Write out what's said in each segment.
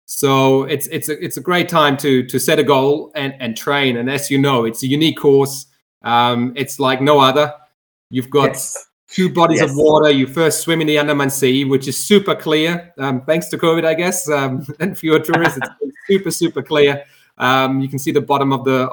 So it's a great time to set a goal and train. And as you know, it's a unique course. It's like no other. You've got two bodies of water. You first swim in the Andaman Sea, which is super clear, thanks to COVID, I guess, and fewer tourists. It's super clear. You can see the bottom of the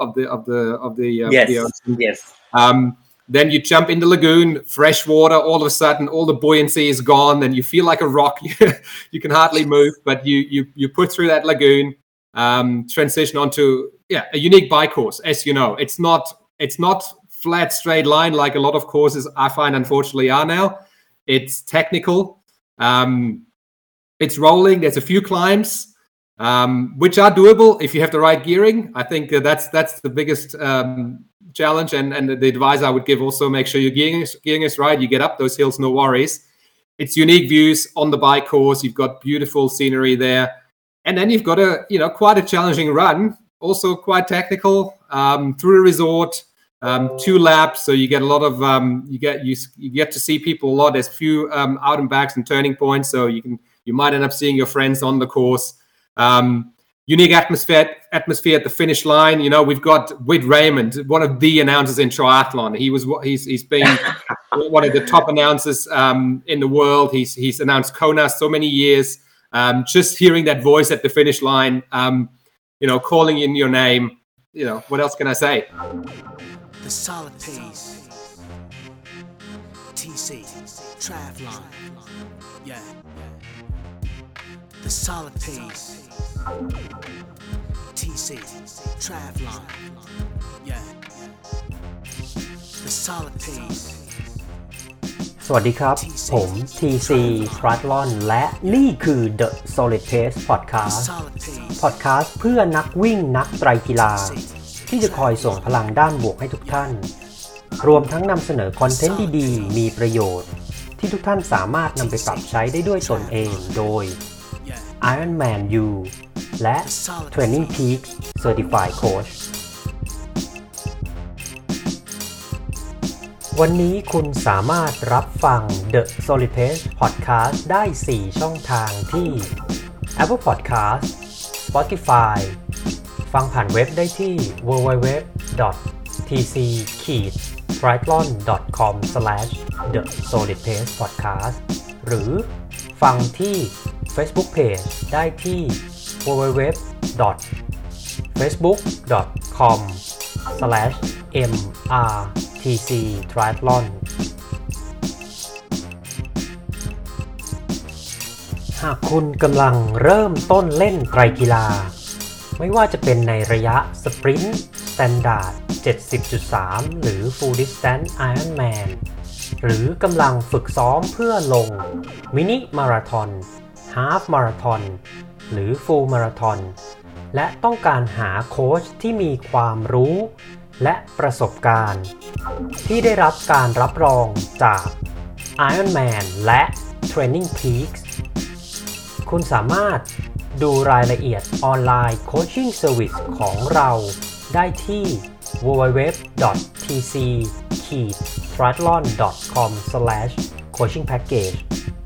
ocean. Then you jump in the lagoon, fresh water. All of a sudden, all the buoyancy is gone, and you feel like a rock. You can hardly move, but you put through that lagoon, transition onto a unique bike course. As you know, it's not flat straight line like a lot of courses I find unfortunately are now. It's technical. It's rolling. There's a few climbs, which are doable if you have the right gearing. I think that's the biggest challenge, and the advice I would give also: make sure your gearing is right. You get up those hills, no worries. It's unique views on the bike course. You've got beautiful scenery there, and then you've got quite a challenging run, also quite technical, through a resort, 2 laps. So you get a lot of you get to see people a lot. There's a few out and backs and turning points, so you might end up seeing your friends on the course. Unique atmosphere at the finish line. We've got Whit Raymond, one of the announcers in triathlon. He's been one of the top announcers in the world. He's announced Kona so many years. Just hearing that voice at the finish line, calling in your name. What else can I say? The solid pace. TC triathlon. Yeah. The solid pace. TC triathlon. Yeah. The solid pace. สวัสดีครับผม TC Triathlon และนี่คือ The Solid Pace Podcast เพื่อนักวิ่งนักไตรกีฬาที่จะคอยส่งพลังด้านบวกให้ทุกท่านรวมทั้งนำเสนอคอนเทนต์ดีๆมีประโยชน์ที่ทุกท่านสามารถนำไปปรับใช้ได้ด้วยตนเองโดย Ironman U และ Training Peaks Certified Coach วันนี้คุณสามารถรับฟัง The Solid Pace Podcast ได้ 4 ช่องทางที่ Apple Podcast Spotify ฟังผ่านเว็บได้ที่ www.tctriathlon.com/thesolidpacepodcast หรือฟังที่ Facebook Page ได้ที่ www.facebook.com/mrtctriathlon หากคุณกำลังเริ่มต้นเล่นไตรกีฬาไม่ว่าจะเป็นในระยะสปรินต์สแตนดาร์ด 70.3 หรือ Full Distance Ironman หรือกำลังฝึกซ้อมเพื่อลงมินิมาราธอนฮาล์ฟมาราธอนหรือ Full Marathon และต้องการหาโค้ชที่มีความรู้และประสบการณ์ที่ได้รับการรับรองจาก Ironman และ Training Peaks คุณสามารถดูรายละเอียดออนไลน์โคชชิ่งเซอร์วิสของเราได้ที่ www.tc-triathlon.com/coachingpackage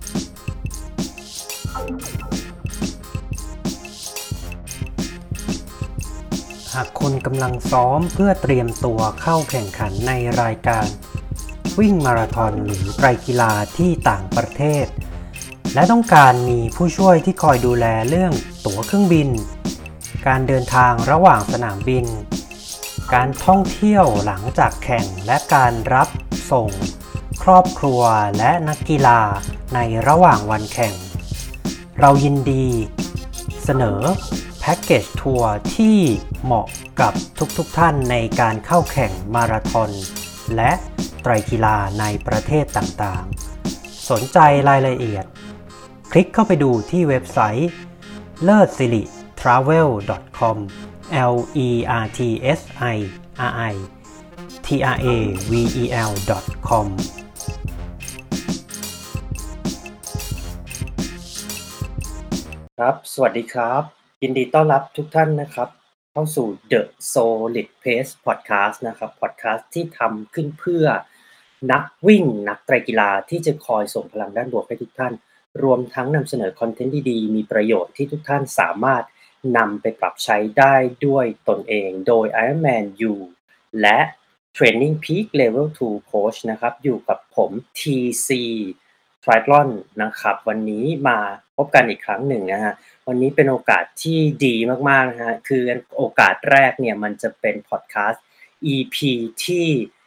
หากคุณกำลังซ้อมเพื่อเตรียมตัวเข้าแข่งขันในรายการวิ่งมาราธอนหรือไตรกีฬาที่ต่างประเทศและต้องการมีผู้ช่วยที่คอยดูแลเรื่องตั๋วเครื่องบินการเดินทางระหว่างสนามบินการท่องเที่ยวหลังจากแข่งและการรับส่งครอบครัวและนักกีฬาในระหว่างวันแข่งเรายินดีเสนอแพ็กเกจทัวร์ที่เหมาะกับทุกท่านในการเข้าแข่งมาราธอนและไตรกีฬาในประเทศต่างๆสนใจรายละเอียดคลิกเข้าไปดูที่เว็บไซต์ lertsiri.travel.com lertsitravel.com ครับสวัสดีครับยินดีต้อนรับทุกท่านนะครับเข้าสู่ The Solid Pace Podcast นะครับ Podcast ที่ทำขึ้นเพื่อนักวิ่งนักไตรกีฬาที่จะคอยส่งพลังด้านบวกให้ทุกท่านรวมทั้งนำเสนอคอนเทนต์ดีๆมีประโยชน์ที่ทุกท่านสามารถนำไปปรับใช้ได้ด้วยตนเองโดย Ironman U และ Training Peak Level 2 Coach นะครับอยู่กับผม TC Triathlon นะครับวันนี้มาพบกันอีกครั้งหนึ่งนะฮะวันนี้เป็นโอกาสที่ดีมากๆนะฮะคือโอกาสแรกเนี่ยมันจะเป็นพอดแคสต์ EP ที่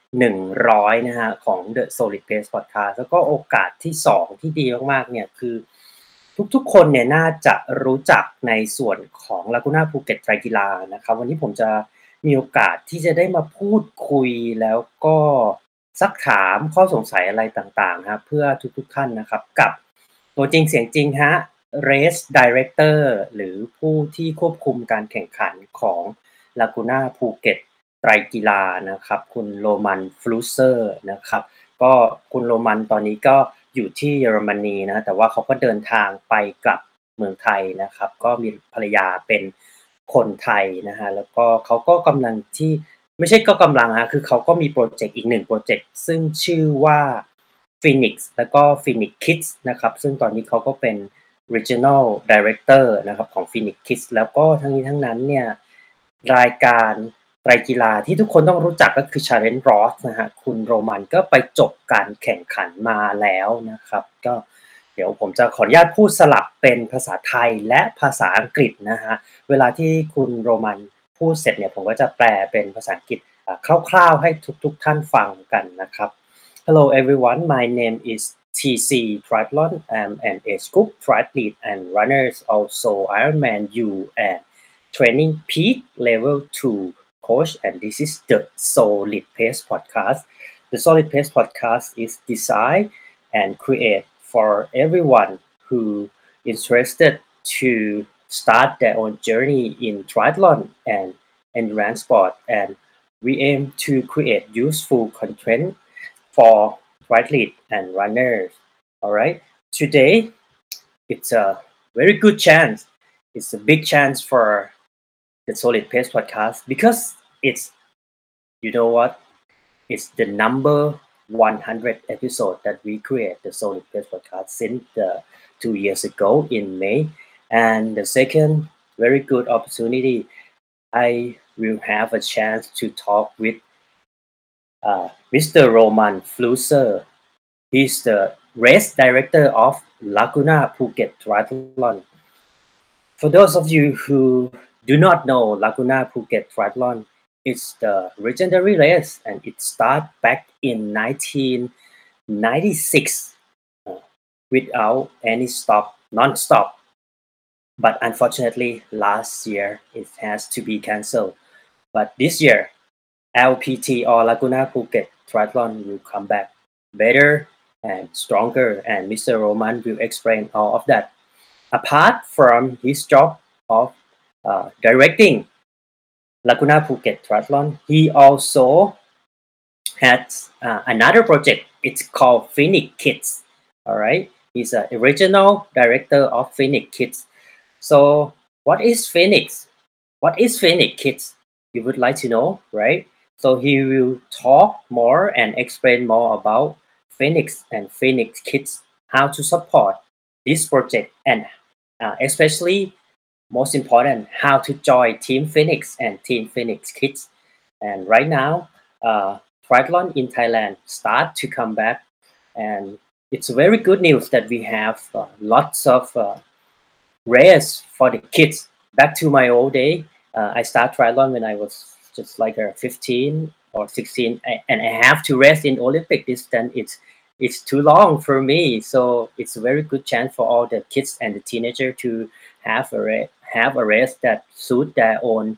100นะฮะของ The Solid Pace Podcast แล้วก็โอกาสที่2ที่ดีมากๆเนี่ยคือทุกๆคนเนี่ยน่าจะรู้จักในส่วนของ Laguna Phuket ไตรกีฬานะครับวันนี้ผมจะมีโอกาสที่จะได้มาพูดคุยแล้วก็ซักถามข้อสงสัยอะไรต่างๆครับเพื่อทุกๆท่านนะครับกับตัวจริงเสียงจริงฮะ Race Director หรือผู้ที่ควบคุมการแข่งขันของ Laguna Phuket ไตรกีฬานะครับคุณโรมันฟลูเซอร์นะครับก็คุณโรมันตอนนี้ก็อยู่ที่เยอรมนีนะแต่ว่าเขาก็เดินทางไปกลับเมืองไทยนะครับก็มีภรรยาเป็นคนไทยนะฮะแล้วก็เขาก็กำลังที่ไม่ใช่ก็กำลังฮะคือเขาก็มีโปรเจกต์อีก1โปรเจกต์ซึ่งชื่อว่า Phoenix แล้วก็ Phoenix Kids นะครับซึ่งตอนนี้เขาก็เป็น Regional Director นะครับของ Phoenix Kids แล้วก็ทั้งนี้ทั้งนั้นเนี่ยรายการไตรกีฬาที่ทุกคนต้องรู้จักก็คือ Challenge Roth นะฮะคุณโรมันก็ไปจบการแข่งขันมาแล้วนะครับก็เดี๋ยวผมจะขออนุญาตพูดสลับเป็นภาษาไทยและภาษาอังกฤษนะฮะเวลาที่คุณโรมันพูดเสร็จเนี่ยผมก็จะแปลเป็นภาษาอังกฤษคร่าวๆให้ทุกท่านฟังกันนะครับ Hello everyone, my name is TC Triathlon. I'm an age group triathlete and runners, also Ironman U and Training Peak Level 2 coach, and this is the Solid Pace Podcast. The Solid Pace Podcast is designed and created for everyone who interested to start their own journey in triathlon and endurance sport, and we aim to create useful content for triathletes and runners. All right. Today, it's a very good chance. It's a big chance for the Solid Pace podcast because it's, you know what? It's the number 100 episode that we create the Solid Pace podcast since 2 years ago in May. And the second very good opportunity, I will have a chance to talk with Mr. Roman Flusser. He's the race director of Laguna Phuket Triathlon. For those of you who do not know Laguna Phuket Triathlon, it's the legendary race and it started back in 1996 without any stop, non-stop. But unfortunately, last year it has to be cancelled. But this year, LPT or Laguna Phuket Triathlon will come back better and stronger, and Mr. Roman will explain all of that. Apart from his job of directing Laguna Phuket Triathlon, he also has another project. It's called Phoenix Kids. All right, he's a original director of Phoenix Kids. So, what is Phoenix? What is Phoenix Kids? You would like to know, right? So he will talk more and explain more about Phoenix and Phoenix Kids, how to support this project, and especially most important, how to join Team Phoenix and Team Phoenix Kids. And right now, triathlon in Thailand start to come back, and it's very good news that we have lots of race for the kids. Back to my old day, I started triathlon when I was just like 15 or 16, and I have to race in Olympic distance. It's too long for me, so it's a very good chance for all the kids and the teenager to have a race that suit their own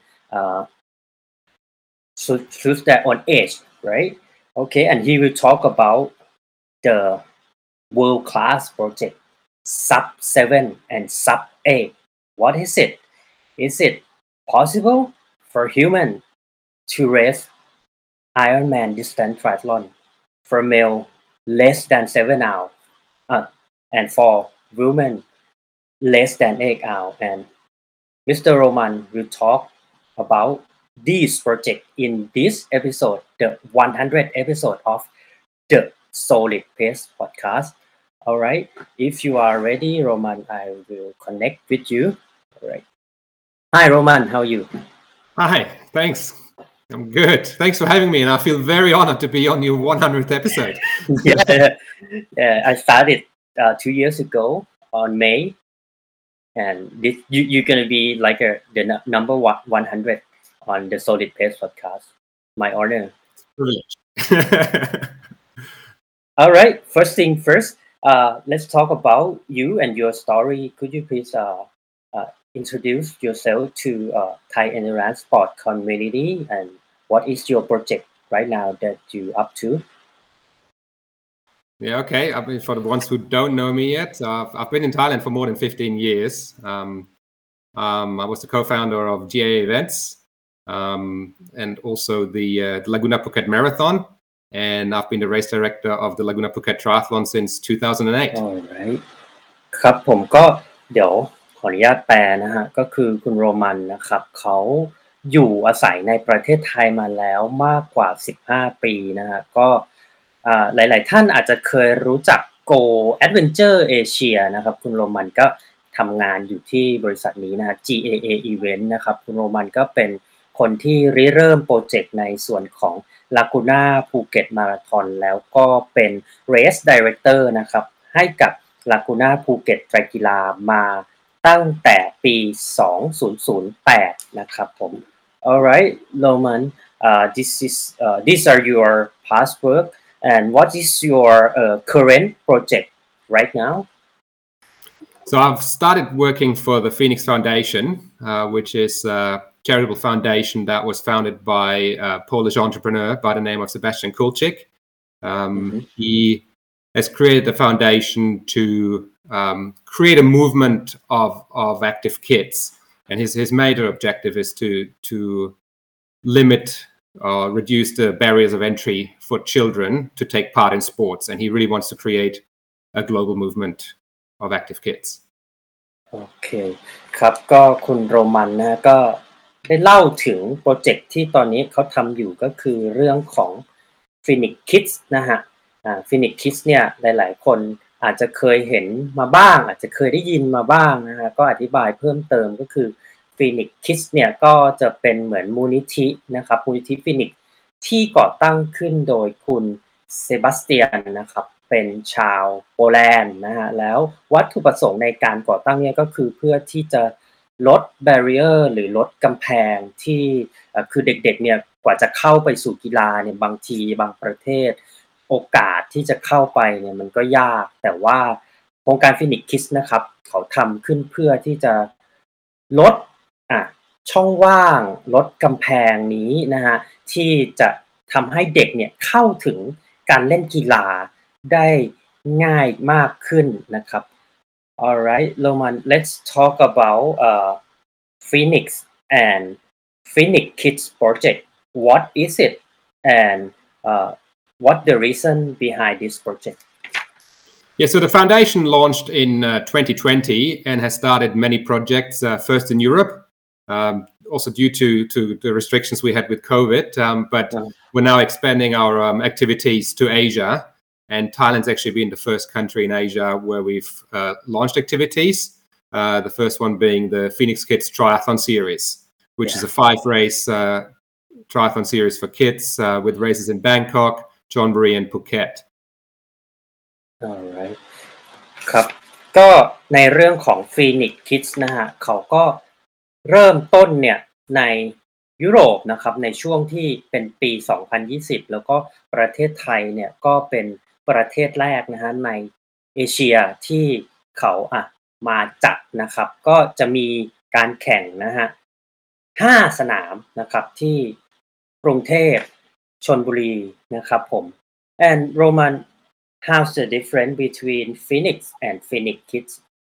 age, right? Okay, and he will talk about the world class project sub 7 and sub 8. What is it? Is it possible for human to race Ironman distance triathlon for male less than 7 hours and for women less than 8 hours? And Mr. Roman will talk about this project in this episode, the 100th episode of the Solid Pace podcast. All right. If you are ready, Roman, I will connect with you. All right. Hi, Roman. How are you? Hi, thanks. I'm good. Thanks for having me, and I feel very honored to be on your 100th episode. Yeah. I started 2 years ago on May, and you're gonna be like the number 100 on the Solid Pace podcast. My honor. Privilege. All right. First thing first. Let's talk about you and your story. Could you please introduce yourself to Thai Endurance Sport community, and what is your project right now that you up to? Yeah, okay. I mean, for the ones who don't know me yet, I've been in Thailand for more than 15 years. I was the co-founder of GA Events and also the Laguna Phuket Marathon. And I've been the race director of the Laguna Phuket Triathlon since 2008. Alright ครับผมก็เดี๋ยวขออนุญาตแปลนะฮะก็คือคุณโรมันนะครับเขาอยู่อาศัยในประเทศไทยมาแล้วมากกว่า15ปีนะฮะก็หลายๆท่านอาจจะเคยรู้จัก Go Adventure Asia นะครับคุณโรมันก็ทำงานอยู่ที่บริษัทนี้นะฮะ GAA Event นะครับคุณโรมันก็เป็นคนที่ริเริ่มโปรเจกต์ในส่วนของ Laguna Phuket Marathon แล้วก็เป็น Race Director นะครับให้กับ Laguna Phuket ไตรกีฬามาตั้งแต่ปี 2008 นะครับผม Alright Roman these are your past work and what is your current project right now? So I've started working for the Phoenix Foundation, which is a charitable foundation that was founded by a Polish entrepreneur by the name of Sebastian Kulczyk. He has created the foundation to create a movement of active kids. And his major objective is to limit or reduce the barriers of entry for children to take part in sports. And he really wants to create a global movement of active kids. โอเคครับก็คุณโรมันนะก็ได้เล่าถึงโปรเจกต์ที่ตอนนี้เขาทำอยู่ก็คือเรื่องของ Phoenix Kids นะฮะPhoenix Kids เนี่ยหลายๆคนอาจจะเคยเห็นมาบ้างอาจจะเคยได้ยินมาบ้างนะฮะก็อธิบายเพิ่มเติมก็คือ Phoenix Kids เนี่ยก็จะเป็นเหมือนมูลนิธินะครับมูลนิธิ Phoenix ที่ก่อตั้งขึ้นโดยคุณเซบาสเตียนนะครับเป็นชาวโปแลนด์นะฮะแล้ววัตถุประสงค์ในการก่อตั้งเนี่ยก็คือเพื่อที่จะลด barrier หรือลดกำแพงที่คือเด็กๆเนี่ยกว่าจะเข้าไปสู่กีฬาเนี่ยบางทีบางประเทศโอกาสที่จะเข้าไปเนี่ยมันก็ยากแต่ว่าโครงการ Phoenix Kids นะครับเขาทำขึ้นเพื่อที่จะลดช่องว่างลดกำแพงนี้นะฮะที่จะทำให้เด็กเนี่ยเข้าถึงการเล่นกีฬาได้ง่ายมากขึ้นนะครับ Alright Roman let's talk about Phoenix and Phoenix Kids project what is it and what the reason behind this project Yeah, so the foundation launched in 2020 and has started many projects, first in Europe, also due to the restrictions we had with COVID, but we're now expanding our activities to Asia, and Thailand's actually been the first country in Asia where we've launched activities, the first one being the Phoenix Kids Triathlon Series, which is a 5-race triathlon series for kids with races in Bangkok, Chonburi and Phuket. Alright ครับก็ในเรื่องของ Phoenix Kids นะฮะเขาก็เริ่มต้นเนี่ยในยุโรปนะครับในช่วงที่เป็นปี 2020 แล้วก็ประเทศไทยเนี่ยก็เป็นประเทศแรกนะฮะในเอเชียที่เขามาจัดนะครับก็จะมีการแข่งนะฮะ5 สนามนะครับที่กรุงเทพชลบุรีนะครับผม and Roman how's the difference between Phoenix and Phoenix Kids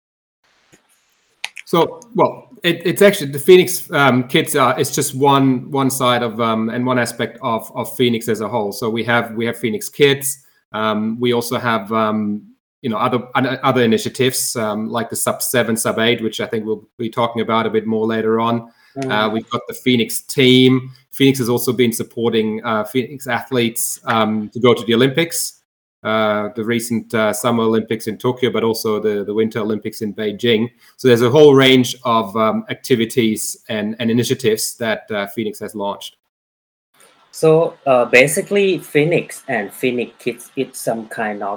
So, well, it's actually the Phoenix Kids is just one side of and one aspect of Phoenix as a whole. So we have Phoenix Kids. We also have other initiatives like the Sub-7, Sub-8, which I think we'll be talking about a bit more later on. We've got the Phoenix team. Phoenix has also been supporting Phoenix athletes to go to the Olympics. the recent Summer Olympics in Tokyo, but also the Winter Olympics in Beijing. So there's a whole range of activities and initiatives that Phoenix has launched. So basically, Phoenix and Phoenix Kids, it's some kind of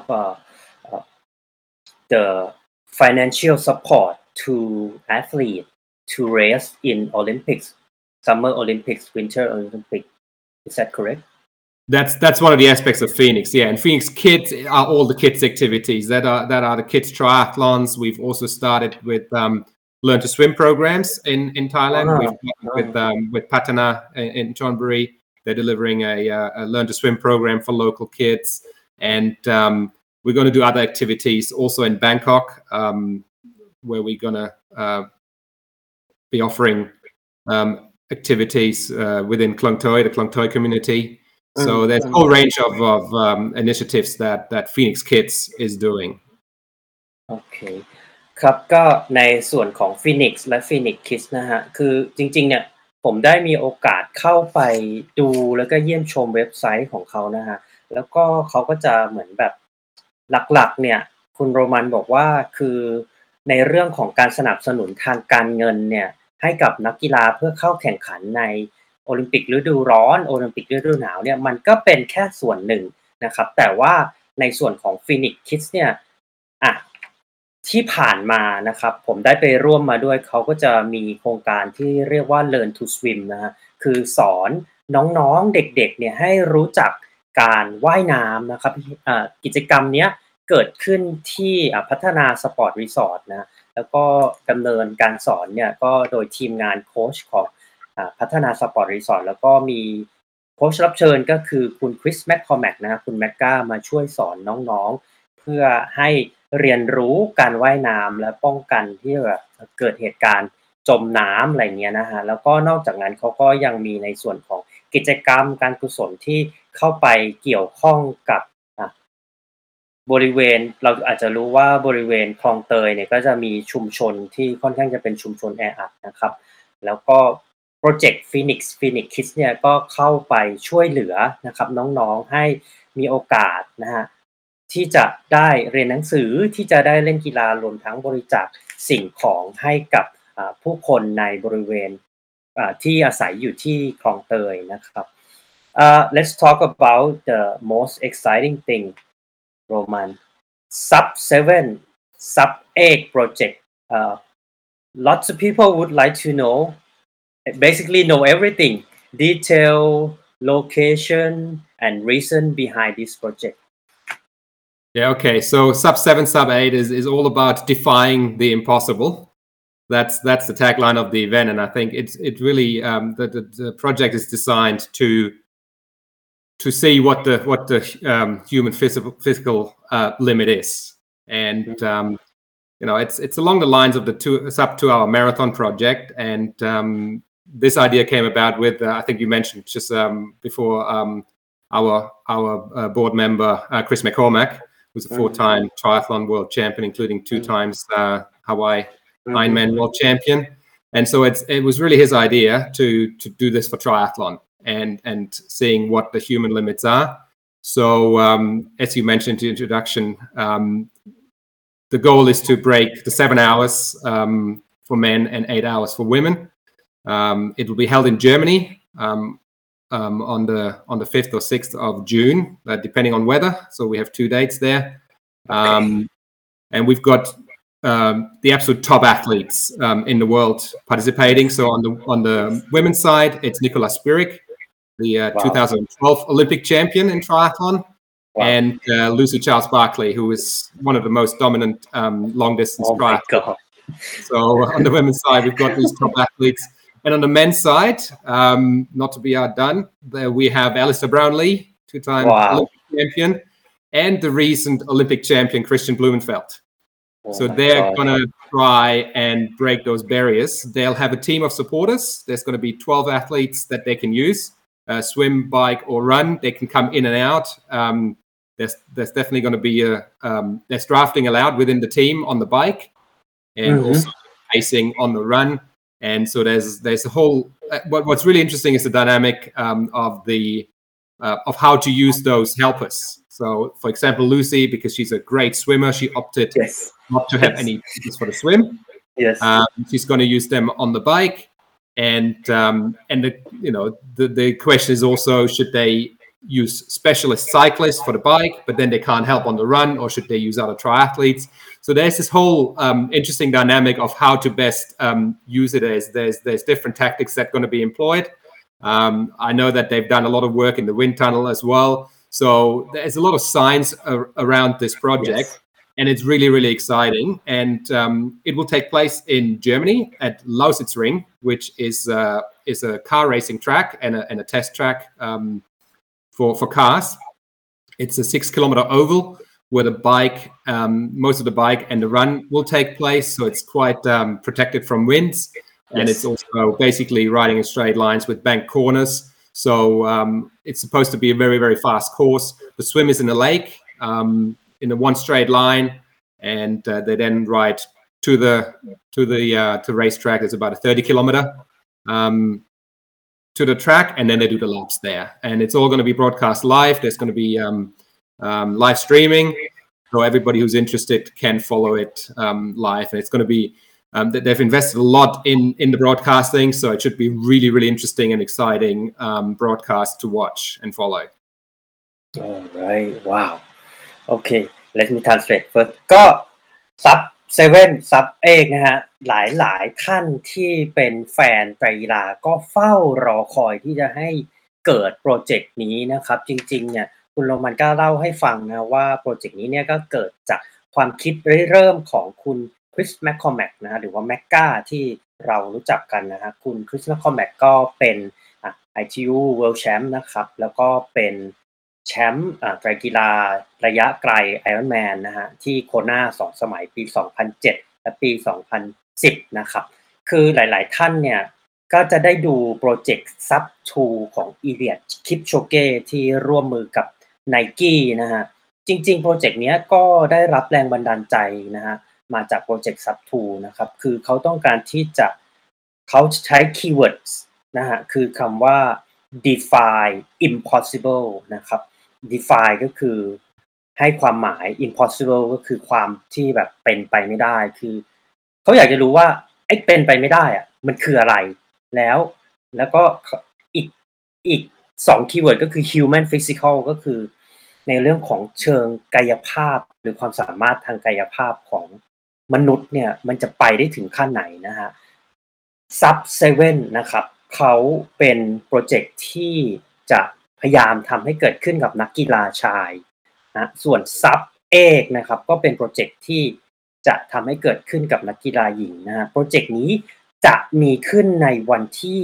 the financial support to athletes to race in Olympics, Summer Olympics, Winter Olympics. Is that correct? That's one of the aspects of Phoenix, yeah. And Phoenix Kids are all the kids activities that are the kids triathlons. We've also started with learn to swim programs in Thailand. We've with Patana in Chonburi. They're delivering a learn to swim program for local kids, and we're going to do other activities also in Bangkok, where we're going to be offering activities within Klong Toi, the Klong Toi community. So there's a whole range of initiatives that Phoenix Kids is doing. โอเคครับก็ในส่วนของ Phoenix และ Phoenix Kids นะฮะคือจริงๆเนี่ยผมได้มีโอกาสเข้าไปดูแล้วก็เยี่ยมชมเว็บไซต์ของเขานะฮะแล้วก็เขาก็จะเหมือนแบบหลักๆเนี่ยคุณโรมันบอกว่าคือในเรื่องของการสนับสนุนทางการเงินเนี่ยให้กับนักกีฬาเพื่อเข้าแข่งขันในโอลิมปิกฤดูร้อนโอลิมปิกฤดูหนาวเนี่ยมันก็เป็นแค่ส่วนหนึ่งนะครับแต่ว่าในส่วนของ Phoenix Kids เนี่ยที่ผ่านมานะครับผมได้ไปร่วมมาด้วยเขาก็จะมีโครงการที่เรียกว่า Learn to Swim นะฮะคือสอนน้องๆเด็กๆเนี่ยให้รู้จักการว่ายน้ำนะครับกิจกรรมเนี้ยเกิดขึ้นที่พัฒนาสปอร์ตรีสอร์ทนะแล้วก็ดำเนินการสอนเนี่ยก็โดยทีมงานโค้ชของพัฒนาสปอร์ตรีสอร์ทแล้วก็มีโค้ชรับเชิญก็คือคุณคริสแมคคอร์แมกนะคุณแมกก้ามาช่วยสอนน้องๆเพื่อให้เรียนรู้การว่ายน้ำและป้องกันที่แบบเกิดเหตุการณ์จมน้ำอะไรเงี้ยนะฮะแล้วก็นอกจากนั้นเขาก็ยังมีในส่วนของกิจกรรมการกุศลที่เข้าไปเกี่ยวข้องกับบริเวณเราอาจจะรู้ว่าบริเวณคลองเตยเนี่ยก็จะมีชุมชนที่ค่อนข้างจะเป็นชุมชนแออัดนะครับแล้วก็โปรเจกต์ Phoenix Kids เนี่ยก็เข้าไปช่วยเหลือนะครับน้องๆให้มีโอกาสนะฮะที่จะได้เรียนหนังสือที่จะได้เล่นกีฬารวมทั้งบริจาคสิ่งของให้กับผู้คนในบริเวณที่อาศัยอยู่ที่คลองเตยนะครับ Let's talk about the most exciting thing Roman Sub 7 Sub 8 project lots of people would like to know basically know everything detail location and reason behind this project. Yeah, okay. So Sub 7, Sub 8 is all about defying the impossible. That's the tagline of the event, and I think it really the project is designed to see what the human physical limit is, and it's along the lines of the sub 2 hour marathon project, and this idea came about with I think you mentioned just before our board member Chris McCormack, who's a 4-time triathlon world champion, including 2 times Hawaii Ironman world champion, and so it was really his idea to do this for triathlon and seeing what the human limits are. So as you mentioned in the introduction, the goal is to break the 7 hours for men and 8 hours for women. It will be held in Germany on the 5th or 6th of June, depending on weather. So we have 2 dates there, and we've got the absolute top athletes in the world participating. So on the women's side, it's Nicola Spirik, the 2012 Olympic champion in triathlon, and Lucy Charles Barkley, who is one of the most dominant long distance triathletes. So on the women's side, we've got these top athletes. And on the men's side, not to be outdone, there we have Alistair Brownlee, 2-time Olympic champion, and the recent Olympic champion, Christian Blumenfeld. So they're going to try and break those barriers. They'll have a team of supporters. There's going to be 12 athletes that they can use, swim, bike, or run. They can come in and out. There's definitely going to be there's drafting allowed within the team on the bike, and also pacing on the run. And so there's a whole. What's really interesting is the dynamic of the of how to use those helpers. So, for example, Lucy, because she's a great swimmer, she opted Yes. not to have Yes. any tickets for the swim. Yes. She's going to use them on the bike, and the question is also, should they use specialist cyclists for the bike, but then they can't help on the run, or should they use other triathletes? So there's this whole interesting dynamic of how to best use it. There's different tactics that are going to be employed. I know that they've done a lot of work in the wind tunnel as well. So there's a lot of science around this project. Yes. And it's really, really exciting. And it will take place in Germany at Lausitzring, which is a car racing track and a test track for cars. It's a 6-kilometer oval where the bike, most of the bike and the run will take place. So it's quite protected from winds. And Yes. it's also basically riding in straight lines with banked corners. So it's supposed to be a very, very fast course. The swim is in a lake. In a one straight line, and they then ride to the racetrack. It's about a 30-kilometer to the track, and then they do the laps there. And it's all going to be broadcast live. There's going to be live streaming, so everybody who's interested can follow it live. And it's going to be they've invested a lot in the broadcasting, so it should be really, really interesting and exciting broadcast to watch and follow. All right. Wow. Okay, let me translate first ก็ซับเซเว่นซับเอกนะฮะหลายท่านที่เป็นแฟนไตรกีฬาก็เฝ้ารอคอยที่จะให้เกิดโปรเจกต์นี้นะครับจริงๆเนี่ยคุณโรมันก็เล่าให้ฟังนะว่าโปรเจกต์นี้เนี่ยก็เกิดจากความคิดเริ่มของคุณคริสแมคคอมแมกนะฮะหรือว่าแมกกาที่เรารู้จักกันนะฮะคุณคริสแมคคอมแมกก็เป็นITU World Champ นะครับแล้วก็เป็นแชมป์ไตรกีฬาระยะไกล Ironman นะฮะที่โคนา2 สมัยปี 2007 และปี 2010 นะครับคือหลายๆท่านเนี่ยก็จะได้ดูโปรเจกต์ Sub2 ของอีเลียด คิปโชเก้ที่ร่วมมือกับ Nike นะฮะจริงๆโปรเจกต์นี้ก็ได้รับแรงบันดาลใจนะฮะมาจากโปรเจกต์ Sub2 นะครับคือเขาต้องการที่จะเขาใช้ keywords นะฮะคือคำว่า defy impossible นะครับ defy ก็คือให้ความหมาย impossible ก็คือความที่แบบเป็นไปไม่ได้คือเขาอยากจะรู้ว่าไอ้เป็นไปไม่ได้อะมันคืออะไรแล้วก็อีก2 keyword ก็คือ human physical ก็คือในเรื่องของเชิงกายภาพหรือความสามารถทางกายภาพของมนุษย์เนี่ยมันจะไปได้ถึงขั้นไหนนะฮะ Sub7 นะครับเขาเป็นโปรเจกต์ที่จะพยายามทำให้เกิดขึ้นกับนักกีฬาชายนะส่วน Sub8 นะครับก็เป็นโปรเจกต์ที่จะทำให้เกิดขึ้นกับนักกีฬาหญิงนะฮะโปรเจกต์นี้จะมีขึ้นในวันที่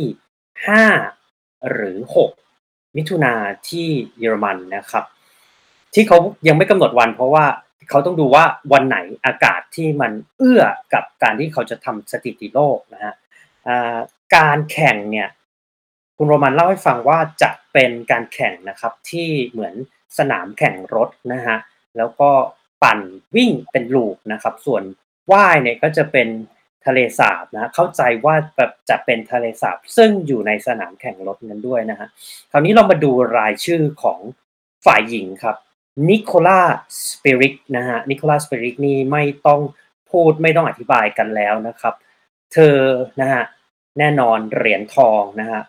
5หรือ6มิถุนายนที่เยอรมันนะครับที่เขายังไม่กำหนดวันเพราะว่าเขาต้องดูว่าวันไหนอากาศที่มันเอื้อกับการที่เขาจะทำสถิติโลกนะฮะการแข่งเนี่ยคุณโรมันเล่าให้ฟังว่าจะเป็นการแข่งนะครับที่เหมือนสนามแข่งรถนะฮะแล้วก็ปั่นวิ่งเป็นลูปนะครับส่วนว่ายเนี่ยก็จะเป็นทะเลสาบนะเข้าใจว่าแบบจะเป็นทะเลสาบซึ่งอยู่ในสนามแข่งรถนั้นด้วยนะฮะคราวนี้เรามาดูรายชื่อของฝ่ายหญิงครับนิโคล่าสเปริกนะฮะนิโคล่าสเปริกนี่ไม่ต้องพูดไม่ต้องอธิบายกันแล้วนะครับเธอนะฮะแน่นอนเหรียญทองนะฮะ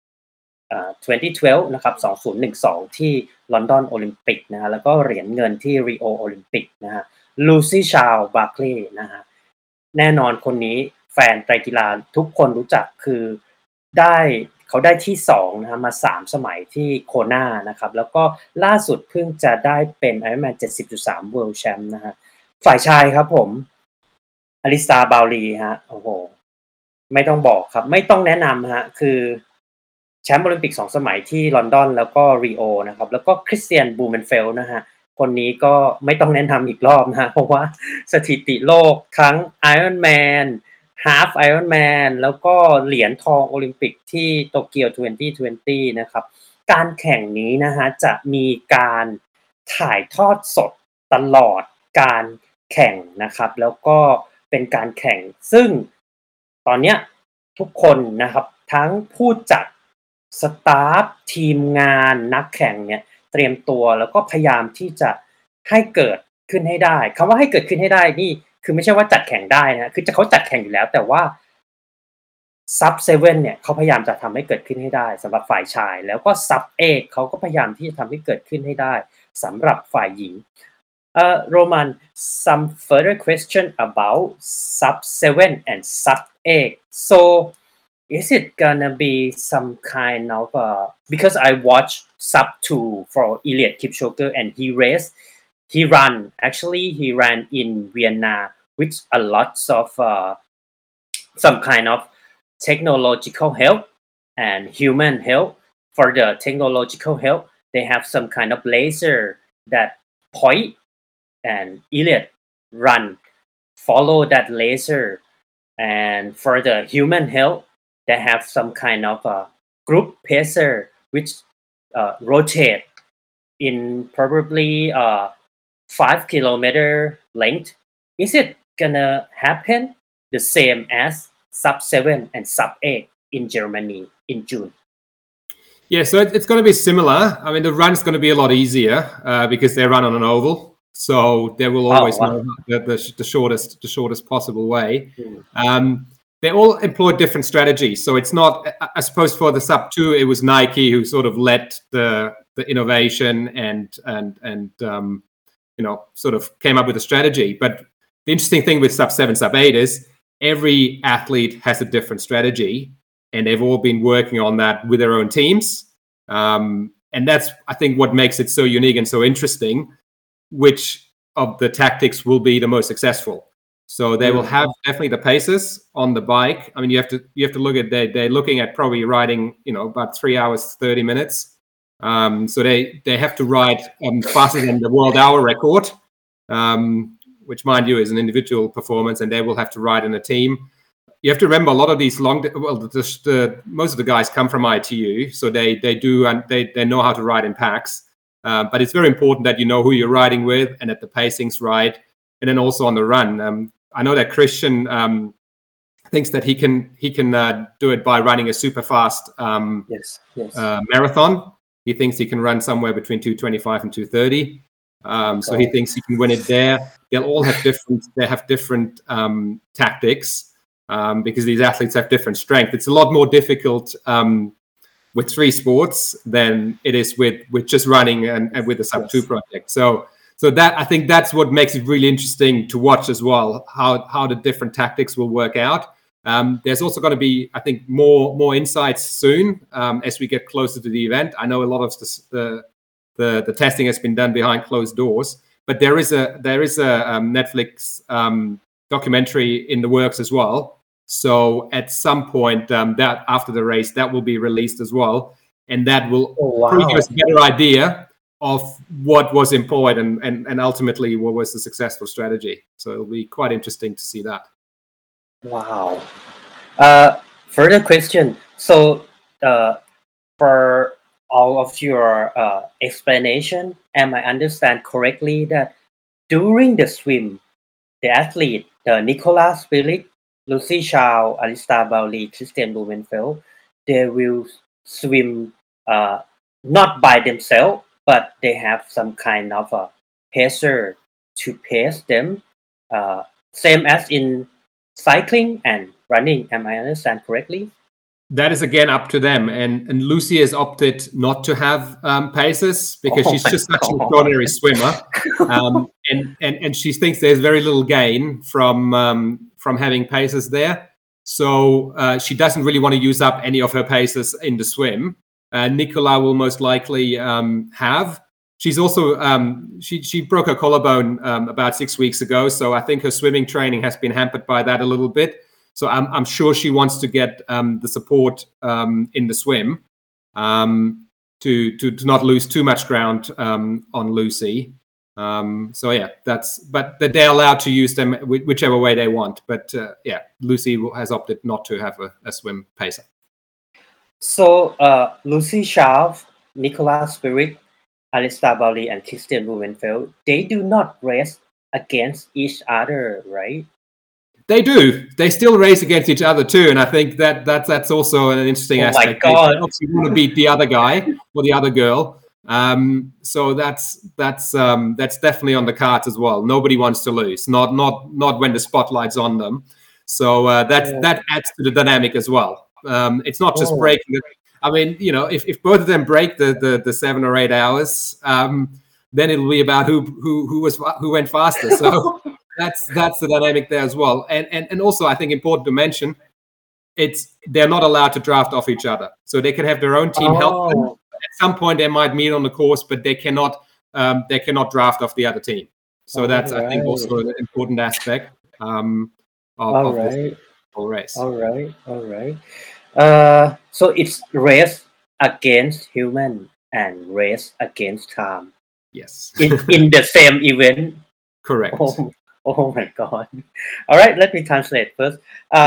2012นะครับ2012ที่ลอนดอนโอลิมปิกนะฮะแล้วก็เหรียญเงินที่ริโอโอลิมปิกนะฮะลูซี่ชาลบาร์คลีย์นะฮะแน่นอนคนนี้แฟนไตรกีฬาทุกคนรู้จักคือเขาได้ที่2นะฮะมา3 สมัยที่โคนานะครับแล้วก็ล่าสุดเพิ่งจะได้เป็น Ironman 70.3 World Champ นะฮะฝ่ายชายครับผมอลิสตาบาวลีฮะโอ้โหไม่ต้องบอกครับไม่ต้องแนะนำฮะคือแชมป์โอลิมปิก2 สมัยที่ลอนดอนแล้วก็ริโอนะครับแล้วก็คริสเตียนบูเมนเฟลนะฮะคนนี้ก็ไม่ต้องแนะนำอีกรอบนะฮะเพราะว่าสถิติโลกทั้ง Ironman Half Ironman แล้วก็เหรียญทองโอลิมปิกที่โตเกียว2020นะครับการแข่งนี้นะฮะจะมีการถ่ายทอดสดตลอดการแข่งนะครับแล้วก็เป็นการแข่งซึ่งตอนเนี้ยทุกคนนะครับทั้งผู้จัดสตาฟทีมงานนักแข่งเนี่ยเตรียมตัวแล้วก็พยายามที่จะให้เกิดขึ้นให้ได้คำว่าให้เกิดขึ้นให้ได้นี่คือไม่ใช่ว่าจัดแข่งได้นะคือเขาจัดแข่งอยู่แล้วแต่ว่าซับเซเว่นเนี่ยเขาพยายามจะทำให้เกิดขึ้นให้ได้สำหรับฝ่ายชายแล้วก็ซับเอกเขาก็พยายามที่จะทำให้เกิดขึ้นให้ได้สำหรับฝ่ายหญิงRoman, some further question about sub 7 and sub 8. So, is it gonna be some kind of because I watched sub 2 for Eliud Kipchoge and he ran in Vienna with a lot of some kind of technological help and human help. For the technological help, they have some kind of laser that point and Eliud run follow that laser, and for the human help they have some kind of a group pacer which rotate in probably 5 kilometer length. Is it gonna happen the same as sub 7 and sub 8 in Germany in June? Yeah, so it's going to be similar. I mean, the run's going to be a lot easier because they run on an oval. So they will always know the shortest possible way. They all employ different strategies. So it's not, I suppose, for the sub 2, it was Nike who sort of led the innovation and sort of came up with a strategy. But the interesting thing with sub 7, sub 8 is every athlete has a different strategy, and they've all been working on that with their own teams. And that's, I think, what makes it so unique and so interesting. Which of the tactics will be the most successful? So they will have definitely the paces on the bike. I mean, you have to look at they're looking at probably riding about 3 hours 30 minutes. So they have to ride faster than the world hour record, which, mind you, is an individual performance, and they will have to ride in a team. You have to remember a lot of these most of the guys come from ITU, so they know how to ride in packs. But it's very important that you know who you're riding with and that the pacing's right. And then also on the run, I know that Christian thinks that he can do it by running a super fast marathon. He thinks he can run somewhere between 2:25 and 2:30. So he thinks he can win it there. They'll all have different tactics because these athletes have different strength. It's a lot more difficult with 3 sports than it is with just running and with the sub 2 project. So that, I think that's what makes it really interesting to watch as well, how the different tactics will work out. There's also going to be, I think, more insights soon as we get closer to the event. I know a lot of the testing has been done behind closed doors, but there is a Netflix documentary in the works as well. So at some point, that after the race, that will be released as well, and that will give us a better idea of what was employed and ultimately what was the successful strategy. So it'll be quite interesting to see that. Wow. Further question. So for all of your explanation, am I understand correctly that during the swim, the athlete, Nicolas Spirit, Lucy Chow, Alista Bowley, Christian Blumenfeld, they will swim not by themselves, but they have some kind of a pacer to pace them, same as in cycling and running. Am I understand correctly? That is again up to them, and Lucy has opted not to have paces because she's just such an extraordinary swimmer, and she thinks there's very little gain from having paces there. So she doesn't really want to use up any of her paces in the swim. Nicola will most likely have. She's also she broke her collarbone about 6 weeks ago, so I think her swimming training has been hampered by that a little bit. So I'm sure she wants to get the support in the swim to not lose too much ground on Lucy. So yeah, but they're allowed to use them whichever way they want. But yeah, Lucy has opted not to have a swim pacer. So Lucy Chow, Nicolas Spirit, Alista Bowley, and Christian Blumenfeld, they do not race against each other, right? They do. They still race against each other too, and I think that's also an interesting aspect. Oh my God. They obviously want to beat the other guy or the other girl. So that's definitely on the cards as well. Nobody wants to lose. Not when the spotlight's on them. So that adds to the dynamic as well. It's not just breaking. I mean, if both of them break the 7 or 8 hours, then it'll be about who went faster. So that's the dynamic there as well. And also, I think important to mention, they're not allowed to draft off each other. So they can have their own team help them. At some point, they might meet on the course, but they cannot draft off the other team. So that's I think also an important aspect of the whole race. All right. So it's race against human and race against time. Yes. in the same event. Correct. Oh my God. All right, let me translate first.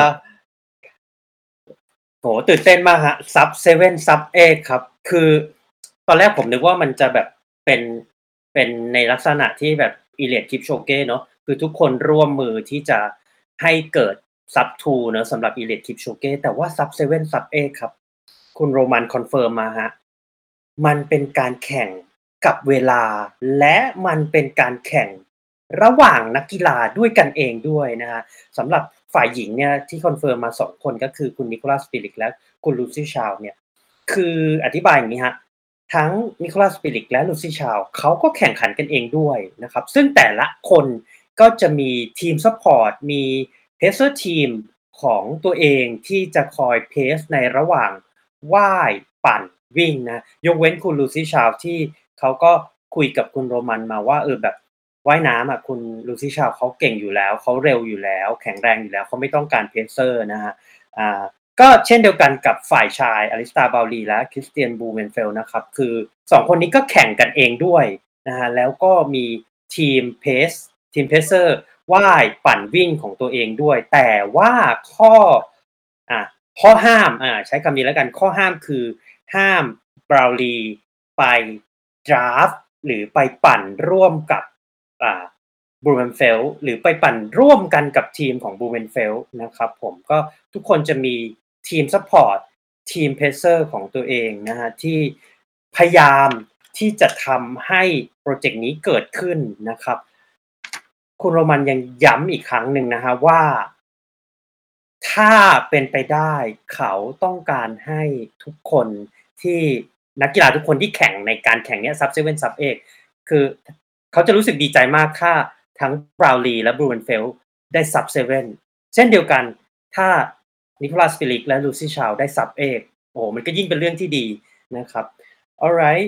โหตื่นเต้นมากฮะซับ7ซับ8ครับคือตอนแรกผมนึกว่ามันจะแบบเป็นในลักษณะที่แบบ Elite Kipchoge เนาะคือทุกคนร่วมมือที่จะให้เกิดซับ2เนาะสำหรับ Elite Kipchoge แต่ว่าซับ7ซับ8ครับคุณโรมันคอนเฟิร์มมาฮะมันเป็นการแข่งกับเวลาและมันเป็นการแข่งระหว่างนักกีฬาด้วยกันเองด้วยนะฮะสำหรับฝ่ายหญิงเนี่ยที่คอนเฟิร์มมา2คนก็คือคุณนิโคลัสปิริกและคุณลูซี่ชาวเนี่ยคืออธิบายอย่างนี้ฮะทั้งนิโคลัสปิริกและลูซี่ชาวเขาก็แข่งขันกันเองด้วยนะครับซึ่งแต่ละคนก็จะมีทีมซัพพอร์ตมีเพเซอร์ทีมของตัวเองที่จะคอยเพสในระหว่างว่ายปั่นวิ่งนะยกเว้นคุณลูซี่ชาวที่เขาก็คุยกับคุณโรมันมาว่าแบบว่ายน้ำอ่ะคุณลูซี่ชาวเขาเก่งอยู่แล้วเขาเร็วอยู่แล้วแข็งแรงอยู่แล้วเขาไม่ต้องการเพเซอร์นะฮะก็เช่นเดียวกันกับฝ่ายชายอลิสตาบาลีและคริสเตียนบูเมนเฟลนะครับคือ2คนนี้ก็แข่งกันเองด้วยนะฮะแล้วก็มีทีมเพเซอร์ว่ายปั่นวิ่งของตัวเองด้วยแต่ว่าข้อห้ามใช้คำนี้แล้วกันข้อห้ามคือห้ามบราวลีไปดราฟหรือไปปั่นร่วมกับบูเมนเฟลหรือไปปั่นร่วมกันกับทีมของบูเมนเฟลนะครับผมก็ทุกคนจะมีทีมซัพพอร์ตทีมเพเซอร์ของตัวเองนะฮะที่พยายามที่จะทำให้โปรเจกต์นี้เกิดขึ้นนะครับคุณโรมันยังย้ำอีกครั้งหนึ่งนะฮะว่าถ้าเป็นไปได้เขาต้องการให้ทุกคนที่นักกีฬาทุกคนที่แข่งในการแข่งเนี้ยซับ7ซับ8คือเขาจะรู้สึกดีใจมากถ้าทั้งบราวลีและบรูเวนเฟลได้ซับ7เช่นเดียวกันถ้านิโคลัสปิริกและลูซี่ชาวได้ซับ8โอ้มันก็ยิ่งเป็นเรื่องที่ดีนะครับ alright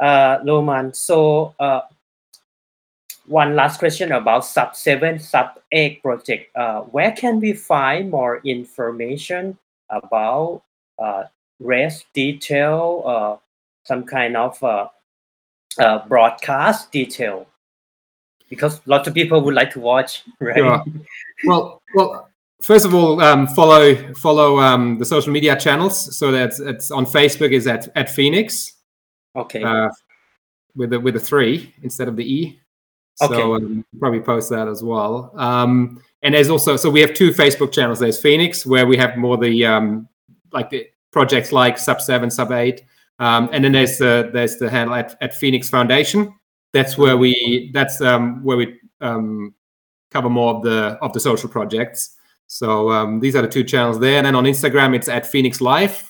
Roman so one last question about sub 7 sub 8 project where can we find more information about race detail some kind of broadcast detail because lots of people would like to watch, right? Sure. Well, first of all, follow the social media channels. So it's on Facebook is at Phoenix. Okay. With a 3 instead of the E. So Okay. Probably post that as well. And there's also we have 2 Facebook channels. There's Phoenix where we have more the like the projects like sub 7, sub 8. And then there's the handle at Phoenix Foundation. That's where we cover more of the social projects. So these are the 2 channels there. And then on Instagram, it's at Phoenix Life.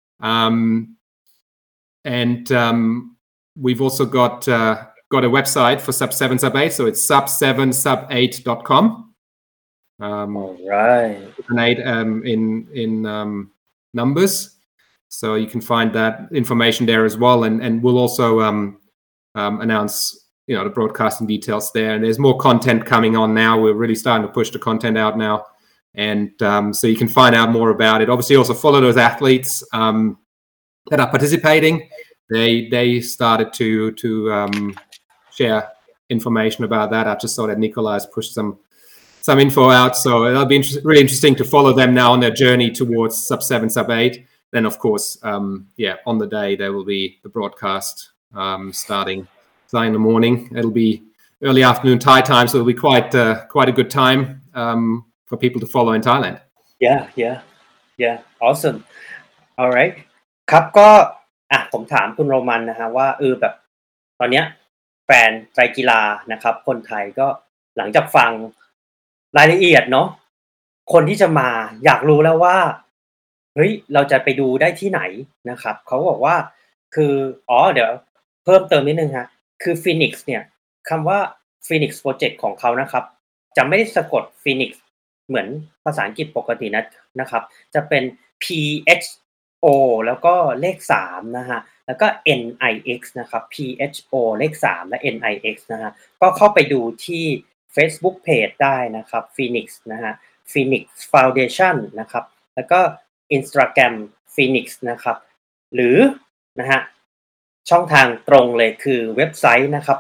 And we've also got a website for sub 7, sub 8. So it's sub7sub8.com. All right. An 8 in numbers. So you can find that information there as well. And we'll also announce the broadcasting details there, and there's more content coming on now. We're really starting to push the content out now, and so you can find out more about it. Obviously also follow those athletes that are participating. They started to share information about that. I just saw that Nikolai's pushed some info out, so it'll be really interesting to follow them now on their journey towards sub 7, sub 8. Then of course on the day there will be the broadcast starting in the morning. It'll be early afternoon Thai time, so it'll be quite a good time people to follow in Thailand. Yeah awesome alright ครับก็ผมถามคุณโรมันนะฮะว่าแบบตอนเนี้ยแฟนไตรกีฬานะครับคนไทยก็หลังจากฟังรายละเอียดเนาะคนที่จะมาอยากรู้แล้วว่าเฮ้ยเราจะไปดูได้ที่ไหนนะครับเขาบอกว่าคือเดี๋ยวเพิ่มเติมนิดนึงฮะคือ Phoenix เนี่ยคำว่า Phoenix Project ของเขานะครับจะไม่ได้สะกด Phoenix เหมือนภาษาอังกฤษปกตินะครับจะเป็น PHO แล้วก็เลข3นะฮะแล้วก็ NIX นะครับ PHO เลข3และ NIX นะฮะก็เข้าไปดูที่ Facebook Page ได้นะครับ Phoenix นะฮะ Phoenix Foundation นะครับแล้วก็ Instagram Phoenix นะครับหรือนะฮะช่องทางตรงเลยคือเว็บไซต์นะครับ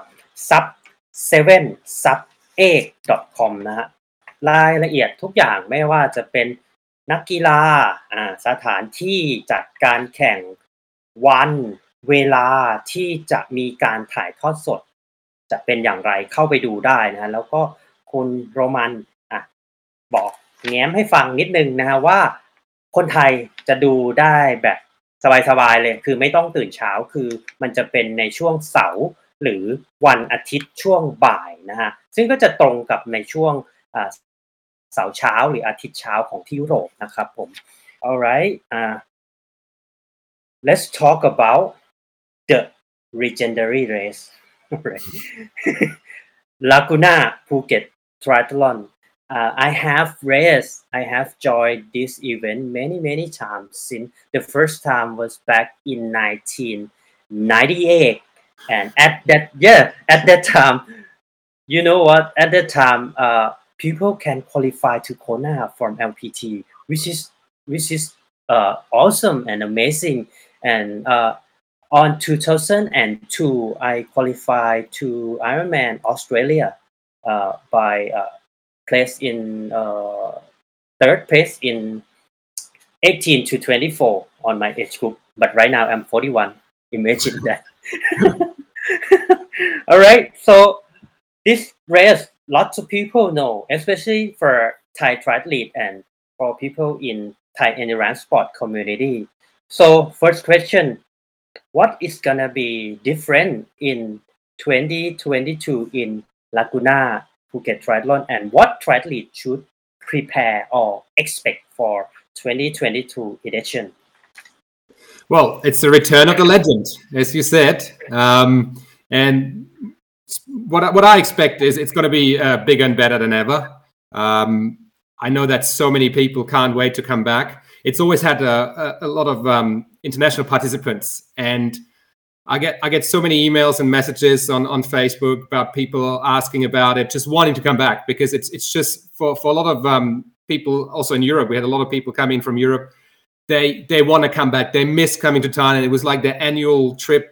sub7sub8.com นะฮะรายละเอียดทุกอย่างไม่ว่าจะเป็นนักกีฬาสถานที่จัดการแข่งวันเวลาที่จะมีการถ่ายทอดสดจะเป็นอย่างไรเข้าไปดูได้นะฮะแล้วก็คุณโรมันบอกแง้มให้ฟังนิดนึงนะฮะว่าคนไทยจะดูได้แบบสบายๆเลยคือไม่ต้องตื่นเช้าคือมันจะเป็นในช่วงเสาร์หรือวันอาทิตย์ช่วงบ่ายนะฮะซึ่งก็จะตรงกับในช่วงเสาร์เช้าหรืออาทิตย์เช้าของที่ยุโรปนะครับผม alright let's talk about the legendary race Laguna Phuket Triathlon I have joined this event many times since the first time was back in 1998 and at that time you know what at that time people can qualify to Kona from LPT which is awesome and amazing and on 2002 I qualified to Ironman Australia by place in third place in 18 to 24 on my age group but right now I'm 41 imagine that all right so this race lots of people know especially for Thai triathlete and for people in Thai endurance sport community so first question what is gonna be different in 2022 in Laguna Phuket Triathlon and what triathlete should prepare or expect for 2022 edition? Well, it's the return of the legend, as you said. And what I expect is it's going to be bigger and better than ever. I know that so many people can't wait to come back. It's always had a lot of international participants, and I get so many emails and messages on Facebook about people asking about it, just wanting to come back because it's just for a lot of people also in Europe. We had a lot of people coming from Europe. They want to come back. They miss coming to Thailand. It was like their annual trip.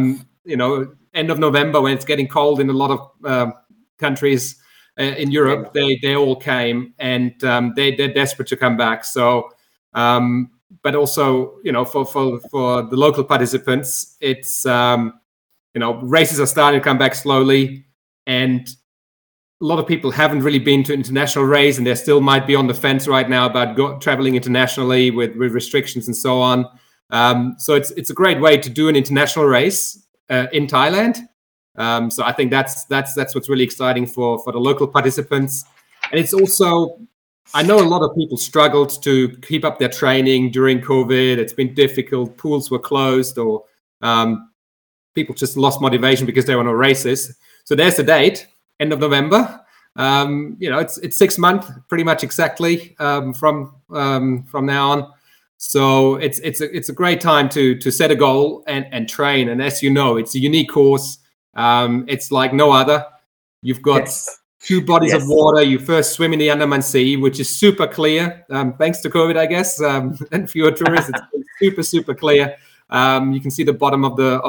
End of November when it's getting cold in a lot of countries in Europe. They all came and they're desperate to come back. So. But also, for the local participants, it's, races are starting to come back slowly. And a lot of people haven't really been to international race and they still might be on the fence right now about traveling internationally with restrictions and so on. So it's a great way to do an international race in Thailand. So I think that's what's really exciting for the local participants. And it's also, I know a lot of people struggled to keep up their training during COVID. It's been difficult. Pools were closed or people just lost motivation because there were no races. So there's the date, end of November. It's 6 months, pretty much exactly from now on. So it's a great time to set a goal and train. And as you know, it's a unique course. It's like no other. You've got... Yes. 2 bodies of water. You first swim in the Andaman Sea, which is super clear, thanks to COVID, I guess, and fewer tourists. It's super clear. You can see the bottom of the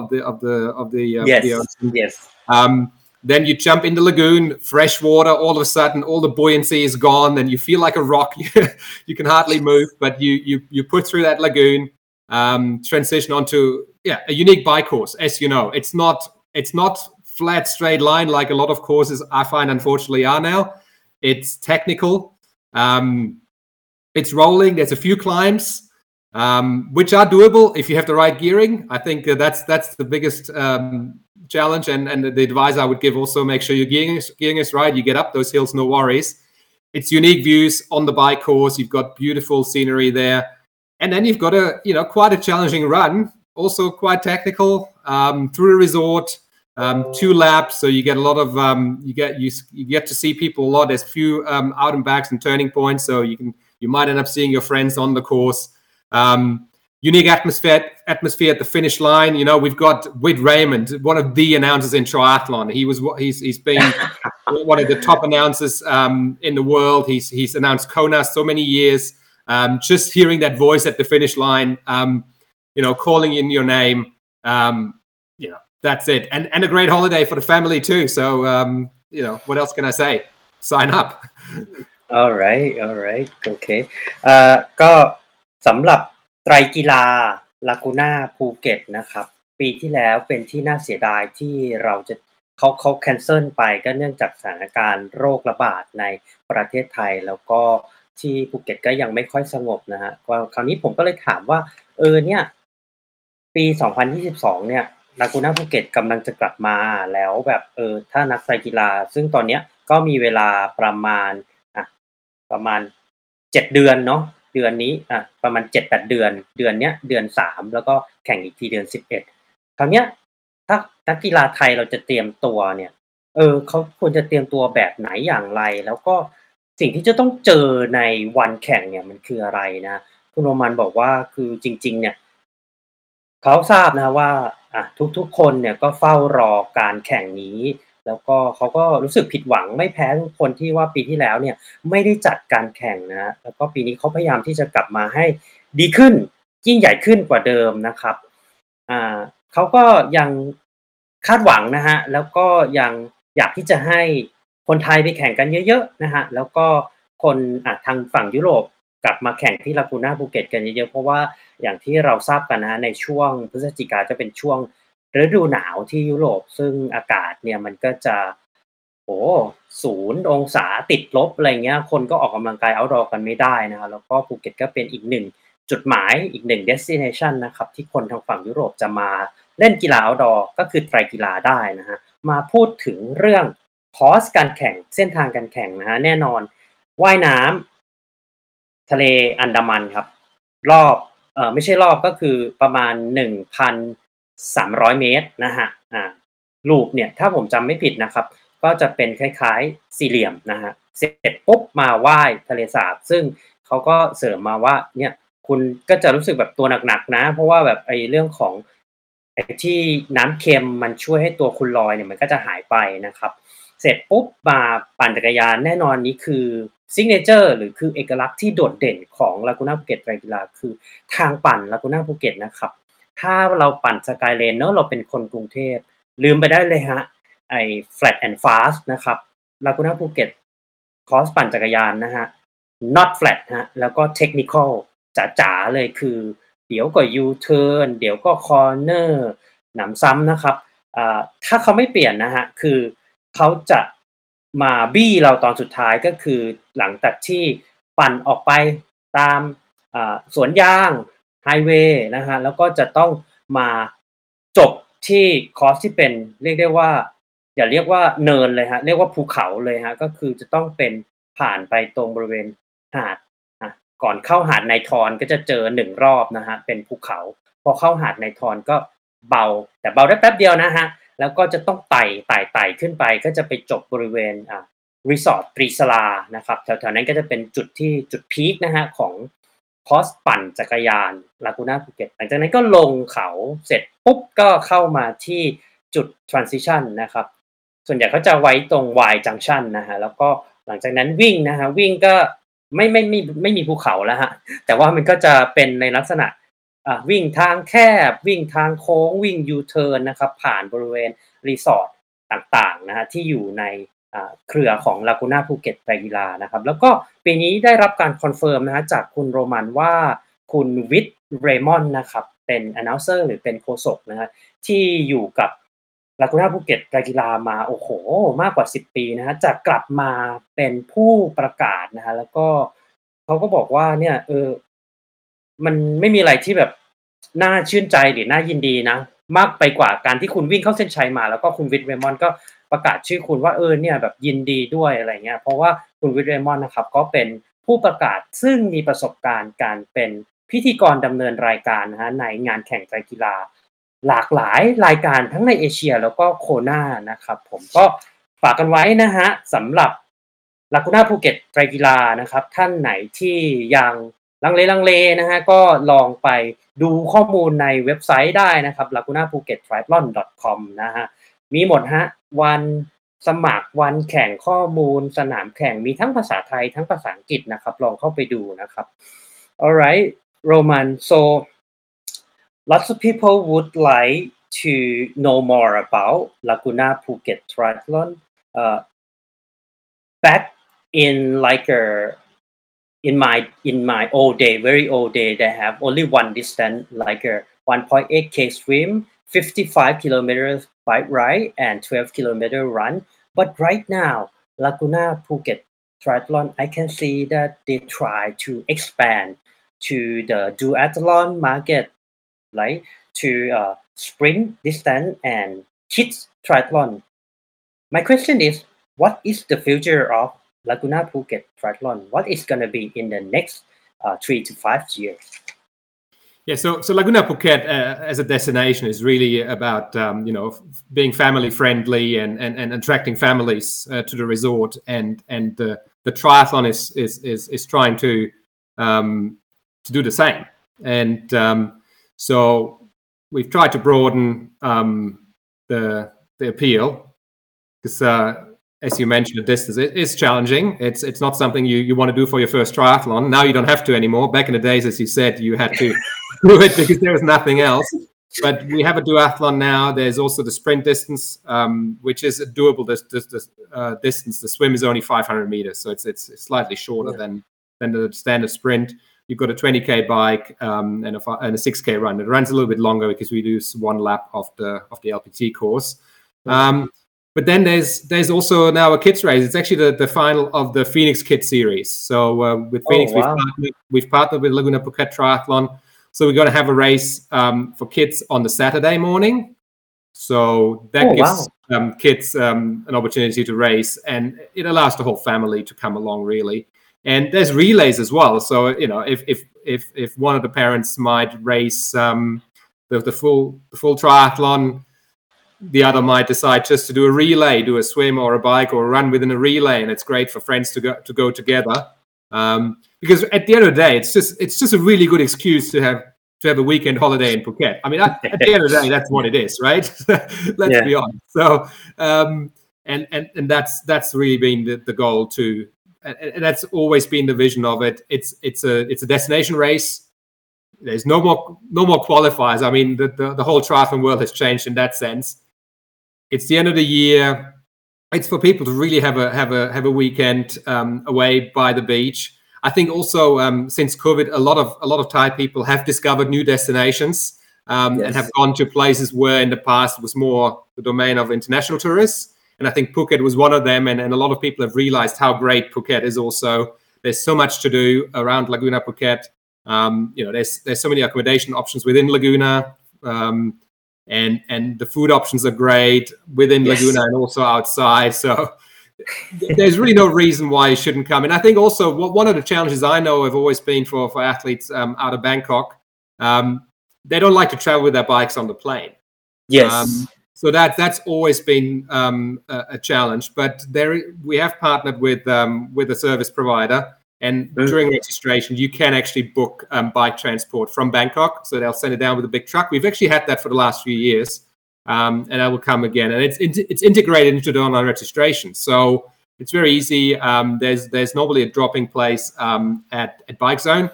ocean. Yes. Then you jump in the lagoon, fresh water. All of a sudden, all the buoyancy is gone, and you feel like a rock. You can hardly move, but you put through that lagoon, transition onto a unique bike course. As you know, it's not flat straight line like a lot of courses I find unfortunately are now. It's technical. It's rolling. There's a few climbs, which are doable if you have the right gearing. I think that's the biggest challenge, and the advice I would give also: make sure your gearing is right. You get up those hills, no worries. It's unique views on the bike course. You've got beautiful scenery there, and then you've got quite a challenging run, also quite technical, through a resort. 2 laps, so you get a lot of you get to see people a lot. There's a few out and backs and turning points, so you might end up seeing your friends on the course. Unique atmosphere at the finish line. We've got Whit Raymond, one of the announcers in triathlon. He's been one of the top announcers in the world. He's announced Kona so many years. Just hearing that voice at the finish line, calling in your name, that's it. And a great holiday for the family too. So what else can I say? Sign up. alright โอเคก็สำหรับไตรกีฬาลากูน่าภูเก็ตนะครับปีที่แล้วเป็นที่น่าเสียดายที่เราจะเขาแคนเซิลไปก็เนื่องจากสถานการณ์โรคระบาดในประเทศไทยแล้วก็ที่ภูเก็ตก็ยังไม่ค่อยสงบนะฮะคราวนี้ผมก็เลยถามว่าเนี่ยปี2022เนี่ยลากูน่าภูเก็ตกำลังจะกลับมาแล้วแบบถ้านักไตรกีฬาซึ่งตอนเนี้ยก็มีเวลาประมาณ7เดือนเนาะเดือนนี้ประมาณ 7-8 เดือนเนี้ยเดือน3แล้วก็แข่งอีกทีเดือน11คราวเนี้ยถ้านักกีฬาไทยเราจะเตรียมตัวเนี่ยเขาควรจะเตรียมตัวแบบไหนอย่างไรแล้วก็สิ่งที่จะต้องเจอในวันแข่งเนี่ยมันคืออะไรนะคุณโรมันบอกว่าคือจริงๆเนี่ยเขาทราบนะว่าทุกคนเนี่ยก็เฝ้ารอการแข่งนี้แล้วก็เขาก็รู้สึกผิดหวังไม่แพ้ทุกคนที่ว่าปีที่แล้วเนี่ยไม่ได้จัดการแข่งนะแล้วก็ปีนี้เขาพยายามที่จะกลับมาให้ดีขึ้นยิ่งใหญ่ขึ้นกว่าเดิมนะครับเขาก็ยังคาดหวังนะฮะแล้วก็ยังอยากที่จะให้คนไทยไปแข่งกันเยอะๆนะฮะแล้วก็คนทางฝั่งยุโรปกลับมาแข่งที่ลากูน่าภูเก็ตกันเยอะๆเพราะว่าอย่างที่เราทราบกันนะฮะในช่วงพฤศจิกาจะเป็นช่วงฤดูหนาวที่ยุโรปซึ่งอากาศเนี่ยมันก็จะ0 องศาติดลบอะไรเงี้ยคนก็ออกกำลังกาย outdoor กันไม่ได้นะครับแล้วก็ภูเก็ตก็เป็นอีกหนึ่งจุดหมายอีกหนึ่ง destination นะครับที่คนทางฝั่งยุโรปจะมาเล่นกีฬา outdoor ก็คือไตรกีฬาได้นะฮะมาพูดถึงเรื่องคอร์สการแข่งเส้นทางการแข่งนะฮะแน่นอนว่ายน้ำทะเลอันดามันครับรอบไม่ใช่รอบก็คือประมาณ 1,300 เมตรนะฮะลูปเนี่ยถ้าผมจำไม่ผิดนะครับก็จะเป็นคล้ายๆสี่เหลี่ยมนะฮะเสร็จปุ๊บมาว่ายทะเลสาบซึ่งเขาก็เสริมมาว่าเนี่ยคุณก็จะรู้สึกแบบตัวหนักๆนะเพราะว่าแบบไอ้เรื่องของไอ้ที่น้ำเค็มมันช่วยให้ตัวคุณลอยเนี่ยมันก็จะหายไปนะครับเสร็จปุ๊บมาปั่นจักรยานแน่นอนนี้คือซิกเนเจอร์หรือคือเอกลักษณ์ที่โดดเด่นของลากูน่าภูเก็ตไตรกีฬาคือทางปั่นลากูน่าภูเก็ตนะครับถ้าเราปั่นสกายเลนเนาะเราเป็นคนกรุงเทพลืมไปได้เลยฮะไอ้ flat and fast นะครับลากูน่าภูเก็ตคอร์สปั่นจักรยานนะฮะ not flat ฮะแล้วก็ technical จ๋าๆเลยคือเดี๋ยวก็ U-turn เดี๋ยวก็ corner หนำซ้ำนะครับถ้าเขาไม่เปลี่ยนนะฮะคือเขาจะมาบี้เราตอนสุดท้ายก็คือหลังจากที่ปั่นออกไปตามสวนยางไฮเวย์นะฮะแล้วก็จะต้องมาจบที่คอร์สที่เป็นเรียกได้ว่าอย่าเรียกว่าเนินเลยฮะเรียกว่าภูเขาเลยฮะก็คือจะต้องเป็นผ่านไปตรงบริเวณหาดก่อนเข้าหาดนายทอนก็จะเจอ1รอบนะฮะเป็นภูเขาพอเข้าหาดนายทอนก็เบาแต่เบาได้แป๊บเดียวนะฮะแล้วก็จะต้องไต่ขึ้นไปก็จะไปจบบริเวณรีสอร์ทตรีสลานะครับแถวๆนั้นก็จะเป็นจุดพีคนะฮะของคอร์สปั่นจักรยานลากูน่าภูเก็ตหลังจากนั้นก็ลงเขาเสร็จปุ๊บก็เข้ามาที่จุด transition นะครับส่วนใหญ่เขาจะไว้ตรง Y junction นะฮะแล้วก็หลังจากนั้นวิ่งนะฮะวิ่งก็ไม่มีภูเขาแล้วฮะแต่ว่ามันก็จะเป็นในลักษณะวิ่งทางแคบวิ่งทางโค้งวิ่ง U-turn นะครับผ่านบริเวณรีสอร์ทต่างๆนะฮะที่อยู่ในเครือของลากูน่าภูเก็ตไตรกีฬานะครับแล้วก็ปีนี้ได้รับการคอนเฟิร์มนะฮะจากคุณโรมันว่าคุณวิทเรมอนนะครับเป็น announcer หรือเป็นโฆษกนะฮะที่อยู่กับลากูน่าภูเก็ตไตรกีฬามาโอ้โหมากกว่า10ปีนะฮะจะกลับมาเป็นผู้ประกาศนะฮะแล้วก็เขาก็บอกว่าเนี่ยมันไม่มีอะไรที่แบบน่าชื่นใจหรือน่ายินดีนะมากไปกว่าการที่คุณวิ่งเข้าเส้นชัยมาแล้วก็คุณวิทย์เรมอนด์ก็ประกาศชื่อคุณว่าเนี่ยแบบยินดีด้วยอะไรเงี้ยเพราะว่าคุณวิทย์เรมอนด์นะครับก็เป็นผู้ประกาศซึ่งมีประสบการณ์การเป็นพิธีกรดำเนินรายการนะฮะในงานแข่งไตรกีฬาหลากหลายรายการทั้งในเอเชียแล้วก็โคนานะครับผมก็ฝากกันไว้นะฮะสำหรับลากูน่าภูเก็ตไตรกีฬานะครับท่านไหนที่ยังลังเลนะฮะก็ลองไปดูข้อมูลในเว็บไซต์ได้นะครับ lagunaphuket.triathlon.com นะฮะมีหมดฮะวันสมัครวันแข่งข้อมูลสนามแข่งมีทั้งภาษาไทยทั้งภาษาอังกฤษนะครับลองเข้าไปดูนะครับ Alright Roman so lots of people would like to know more about Laguna Phuket Triathlon back in like in my old day, very old day, they have only one distance, like a 1.8k swim, 55 kilometers bike ride, and 12 kilometer run. But right now, Laguna Phuket Triathlon, I can see that they try to expand to the duathlon market, like to sprint distance and kids triathlon. My question is, what is the future of Laguna Phuket Triathlon? What is going to be in the next 3 to 5 years? Yeah, so Laguna Phuket as a destination is really about being family friendly and attracting families to the resort, and the triathlon is trying to do the same, and so we've tried to broaden the appeal because. As you mentioned, the distance is challenging. It's not something you want to do for your first triathlon. Now you don't have to anymore. Back in the days, as you said, you had to do it because there was nothing else. But we have a duathlon now. There's also the sprint distance, which is a doable distance. The swim is only 500 meters, so it's slightly shorter than the standard sprint. You've got a 20k bike and a 6k run. It runs a little bit longer because we do one lap of the LPT course. But then there's also now a kids race. It's actually the final of the Phoenix Kids series. So with Phoenix, we've partnered with Laguna Phuket Triathlon. So we're going to have a race for kids on the Saturday morning. So that gives kids an opportunity to race, and it allows the whole family to come along, really. And there's relays as well. So if one of the parents might race the full triathlon, the other might decide just to do a relay, do a swim or a bike or a run within a relay, and it's great for friends to go together. Because at the end of the day, it's just a really good excuse to have a weekend holiday in Phuket. I mean, at the end of the day, that's what it is, right? Let's be honest. So, and that's really been the goal too, and that's always been the vision of it. It's a destination race. There's no more qualifiers. I mean, the whole triathlon world has changed in that sense. It's the end of the year. It's for people to really have a weekend away by the beach. I think also since COVID, a lot of Thai people have discovered new destinations and have gone to places where in the past was more the domain of international tourists. And I think Phuket was one of them. And a lot of people have realized how great Phuket is also. There's so much to do around Laguna Phuket. There's so many accommodation options within Laguna. And the food options are great within Laguna and also outside. So there's really no reason why you shouldn't come. And I think also one of the challenges I know have always been for athletes out of Bangkok, they don't like to travel with their bikes on the plane. Yes. So that's always been a challenge. But we have partnered with a service provider. And during registration, you can actually book bike transport from Bangkok. So they'll send it down with a big truck. We've actually had that for the last few years. And that will come again. And it's integrated into the online registration. So it's very easy. There's normally a dropping place at Bike Zone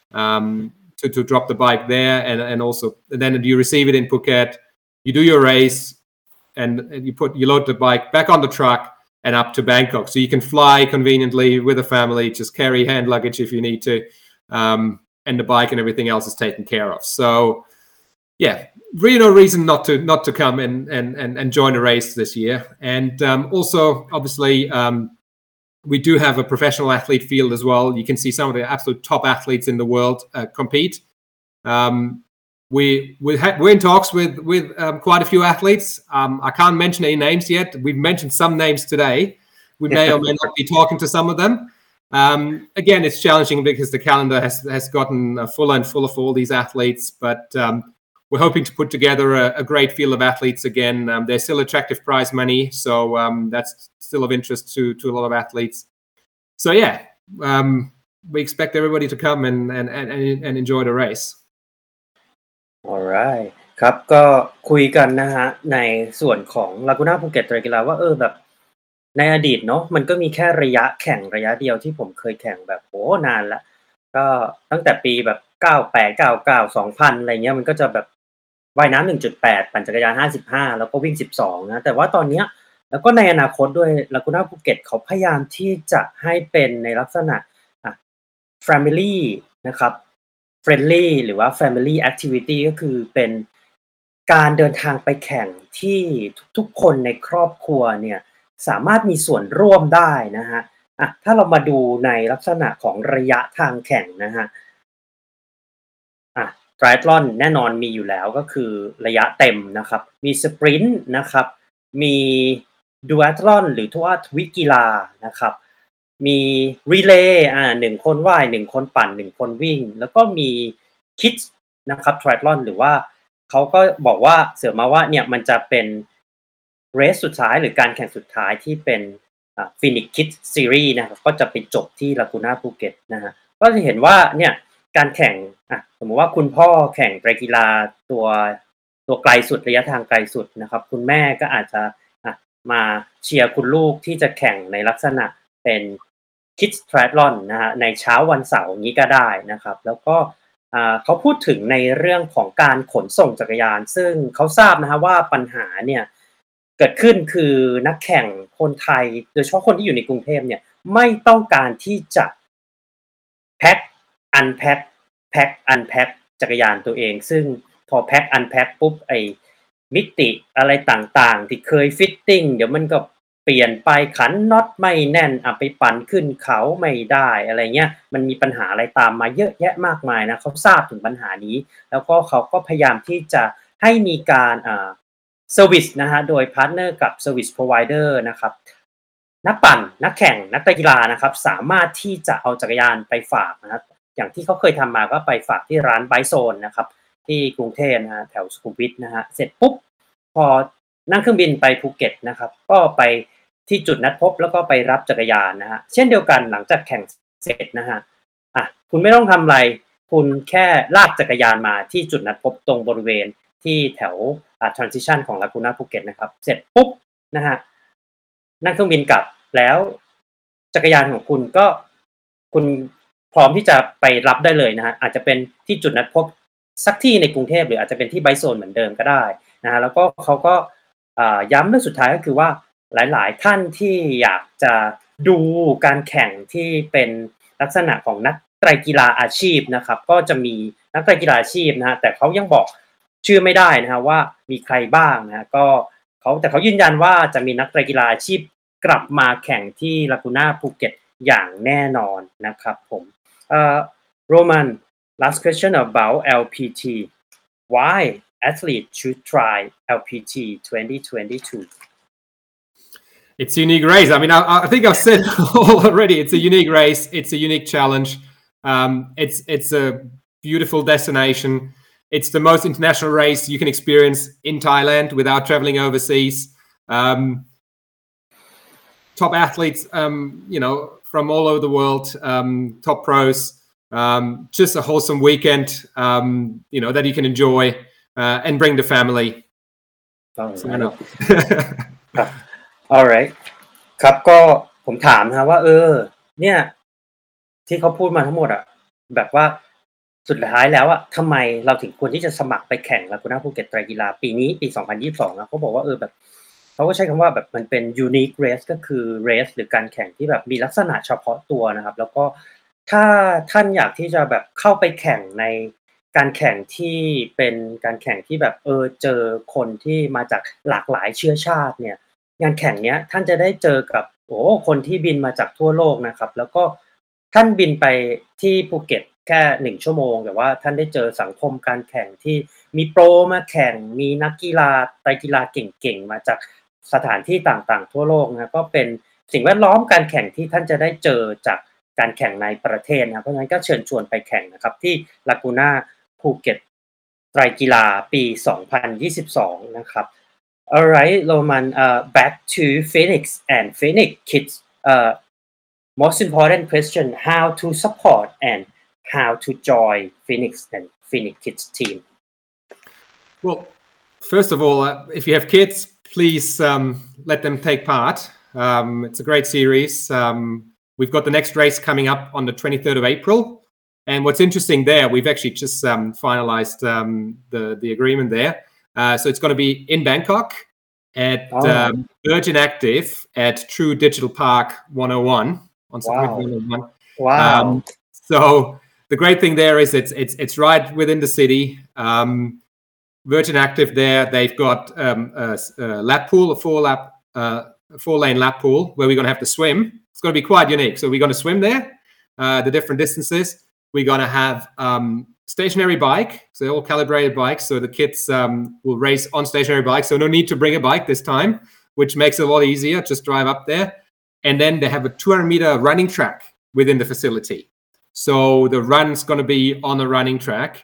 to drop the bike there. And also then you receive it in Phuket. You do your race and you load the bike back on the truck and up to Bangkok. So you can fly conveniently with a family, just carry hand luggage if you need to, and the bike and everything else is taken care of. So yeah, really no reason not to come and join a race this year. And also, obviously, we do have a professional athlete field as well. You can see some of the absolute top athletes in the world compete. We're in talks with quite a few athletes. I can't mention any names yet. We've mentioned some names today. We may or may not be talking to some of them. Again, it's challenging because the calendar has gotten fuller and fuller for all these athletes, but we're hoping to put together a great field of athletes again. There's still attractive prize money, so that's still of interest to a lot of athletes. So yeah, we expect everybody to come and enjoy the race. alright ครับก็คุยกันนะฮะในส่วนของ Laguna Phuket ไตรกีฬาว่าแบบในอดีตเนาะมันก็มีแค่ระยะแข่งระยะเดียวที่ผมเคยแข่งแบบโอ้นานแล้วก็ตั้งแต่ปีแบบ98 99 2000อะไรเงี้ยมันก็จะแบบว่ายน้ำ 1.8 ปั่นจักรยาน55แล้วก็วิ่ง12นะแต่ว่าตอนเนี้ยแล้วก็ในอนาคตด้วย Laguna Phuket เขาพยายามที่จะให้เป็นในลักษณะfamily นะครับ friendly หรือว่า family activity ก็คือเป็นการเดินทางไปแข่งที่ทุกคนในครอบครัวเนี่ยสามารถมีส่วนร่วมได้นะฮะถ้าเรามาดูในลักษณะของระยะทางแข่งนะฮะไตรแอธลอนแน่นอนมีอยู่แล้วก็คือระยะเต็มนะครับมีสปรินต์นะครับมีดูแอธลอนหรือว่าทวิกีฬานะครับมีรีเลย์1คนว่าย1คนปั่น1คนวิ่งแล้วก็มีคิดนะครับไตรแอธลอนหรือว่าเขาก็บอกว่าเสริมมาว่าเนี่ยมันจะเป็นเรสสุดท้ายหรือการแข่งสุดท้ายที่เป็นPhoenix Kids Series นะครับก็จะไปจบที่ Laguna Phuket นะฮะก็จะเห็นว่าเนี่ยการแข่งสมมติว่าคุณพ่อแข่งไตรกีฬาตัวไกลสุดระยะทางไกลสุดนะครับคุณแม่ก็อาจจะมาเชียร์คุณลูกที่จะแข่งในลักษณะเป็น Kids Triathlon นะฮะในเช้าวันเสาร์นี้ก็ได้นะครับแล้วก็เขาพูดถึงในเรื่องของการขนส่งจักรยานซึ่งเขาทราบนะฮะว่าปัญหาเนี่ยเกิดขึ้นคือนักแข่งคนไทยโดยเฉพาะคนที่อยู่ในกรุงเทพเนี่ยไม่ต้องการที่จะแพ็คอันแพ็คจักรยานตัวเองซึ่งพอแพ็คอันแพ็คปุ๊บไอ้มิติอะไรต่างๆที่เคยฟิตติ้งเดี๋ยวมันก็เปลี่ยนไปขันน็อตไม่แน่นไปปั่นขึ้นเขาไม่ได้อะไรเงี้ยมันมีปัญหาอะไรตามมาเยอะแยะมากมายนะเขาทราบถึงปัญหานี้แล้วก็เขาก็พยายามที่จะให้มีการเซอร์วิสนะฮะโดยพาร์ทเนอร์กับเซอร์วิสพรอไวเดอร์นะครับนักปั่นนักแข่งนักกีฬานะครับสามารถที่จะเอาจักรยานไปฝากนะครับอย่างที่เขาเคยทำมาก็ไปฝากที่ร้านไบโซนนะครับที่กรุงเทพนะฮะแถวสุขุมวิทนะฮะเสร็จปุ๊บพอนั่งเครื่องบินไปภูเก็ตนะครับก็ไปที่จุดนัดพบแล้วก็ไปรับจักรยานนะฮะเช่นเดียวกันหลังจากแข่งเสร็จนะฮะคุณไม่ต้องทำอะไรคุณแค่ลากจักรยานมาที่จุดนัดพบตรงบริเวณที่แถวtransition ของ Laguna Phuket นะครับเสร็จปุ๊บนะฮะนั่งเครื่องบินกลับแล้วจักรยานของคุณก็คุณพร้อมที่จะไปรับได้เลยนะฮะอาจจะเป็นที่จุดนัดพบสักที่ในกรุงเทพหรืออาจจะเป็นที่ไบโซนเหมือนเดิมก็ได้นะฮะแล้วก็เขาก็ย้ำเรื่องสุดท้ายก็คือว่าหลายๆท่านที่อยากจะดูการแข่งที่เป็นลักษณะของนักไตรกีฬาอาชีพนะครับก็จะมีนักไตรกีฬาอาชีพนะฮะแต่เขายังบอกชื่อไม่ได้นะฮะว่ามีใครบ้างนะก็แต่เขายืนยันว่าจะมีนักไตรกีฬาอาชีพกลับมาแข่งที่ Laguna Phuket อย่างแน่นอนนะครับผมRoman last question about LPT why athletes should try LPT 2022 It's a unique race. I mean, I think I've said already. It's a unique race. It's a unique challenge. It's a beautiful destination. It's the most international race you can experience in Thailand without traveling overseas. Top athletes, from all over the world, top pros. Just a wholesome weekend, that you can enjoy and bring the family. Alright ครับก็ผมถามนะว่าเนี่ยที่เขาพูดมาทั้งหมดแบบว่าสุดท้ายแล้วทำไมเราถึงควรที่จะสมัครไปแข่ง Laguna Phuket ไตรกีฬาปีนี้ปี2022นะเขาบอกว่าแบบเขาก็ใช้คำว่าแบบมันเป็น unique race ก็คือ race หรือการแข่งที่แบบมีลักษณะเฉพาะตัวนะครับแล้วก็ถ้าท่านอยากที่จะแบบเข้าไปแข่งในการแข่งที่เป็นการแข่งที่แบบเจอคนที่มาจากหลากหลายเชื้อชาติเนี่ยงานแข่งเนี้ยท่านจะได้เจอกับคนที่บินมาจากทั่วโลกนะครับแล้วก็ท่านบินไปที่ภูเก็ตแค่1 ชั่วโมงแต่ว่าท่านได้เจอสังคมการแข่งที่มีโปรมาแข่งมีนักกีฬาไตรกีฬาเก่งๆมาจากสถานที่ต่างๆทั่วโลกนะก็เป็นสิ่งแวดล้อมการแข่งที่ท่านจะได้เจอจากการแข่งในประเทศนะครับเพราะฉะนั้นก็เชิญชวนไปแข่งนะครับที่ Laguna ภูเก็ตไตรกีฬาปี2022นะครับ Alright Roman back to Phoenix and Phoenix Kids most important question how to support and how to join Phoenix and Phoenix Kids team Well, first of all, if you have kids, please let them take part. It's a great series. We've got the next race coming up on the 23rd of April. And what's interesting there, we've actually just finalized the agreement there. So it's going to be in Bangkok at Virgin Active at True Digital Park 101 on Sukhumvit 101. Wow. So the great thing there is it's right within the city. Virgin Active there, they've got a lap pool, a four-lane lap pool where we're going to have to swim. It's going to be quite unique. So we're going to swim there, the different distances. We're going to have stationary bike. So they're all calibrated bikes. So the kids will race on stationary bikes. So no need to bring a bike this time, which makes it a lot easier. Just drive up there. And then they have a 200-meter running track within the facility. So the run's going to be on the running track.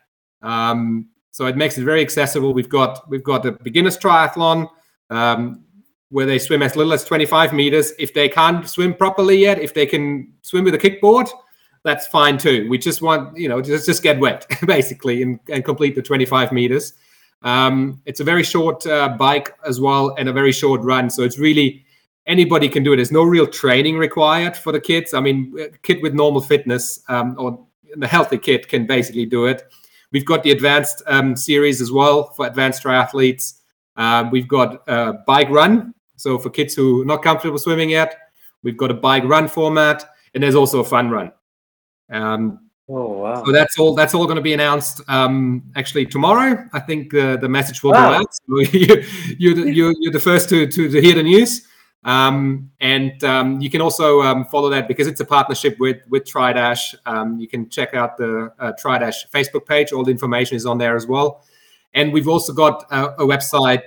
So it makes it very accessible. We've got a beginner's triathlon where they swim as little as 25 meters. If they can't swim properly yet, if they can swim with a kickboard, that's fine too. We just want, just get wet basically and complete the 25 meters. It's a very short bike as well and a very short run. So it's really, anybody can do it. There's no real training required for the kids. I mean, a kid with normal fitness or the healthy kid can basically do it. We've got the advanced series as well for advanced triathletes. We've got a bike run. So for kids who are not comfortable swimming yet, we've got a bike run format, and there's also a fun run. Wow. So that's all going to be announced actually tomorrow. I think the message will go out. So you're the first to hear the news. And you can also follow that because it's a partnership with TriDash. You can check out the TriDash Facebook page. All the information is on there as well. And we've also got a website,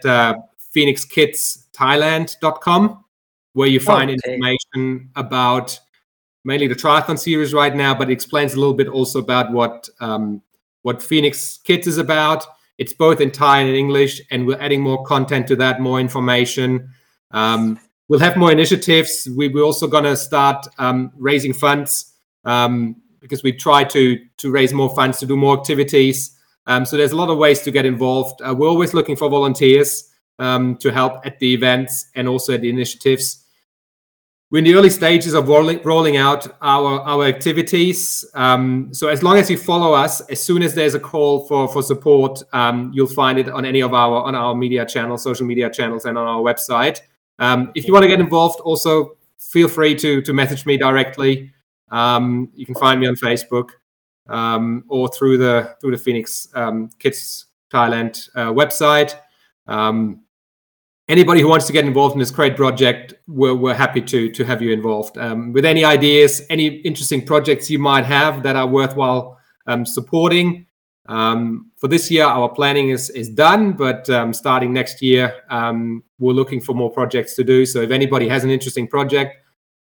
phoenixkidsthailand.com, where you find information about mainly the triathlon series right now, but it explains a little bit also about what Phoenix Kids is about. It's both in Thai and in English, and we're adding more content to that, more information. We'll have more initiatives. We're also going to start raising funds because we try to raise more funds to do more activities. So there's a lot of ways to get involved. We're always looking for volunteers to help at the events and also at the initiatives. We're in the early stages of rolling out our activities. So as long as you follow us, as soon as there's a call for support, you'll find it on any of our media channels, social media channels, and on our website. If you want to get involved, also feel free to message me directly. You can find me on Facebook or through the Phoenix Kids Thailand website. Anybody who wants to get involved in this great project, we're happy to have you involved. With any ideas, any interesting projects you might have that are worthwhile supporting. For this year, our planning is done, but starting next year, we're looking for more projects to do. So if anybody has an interesting project,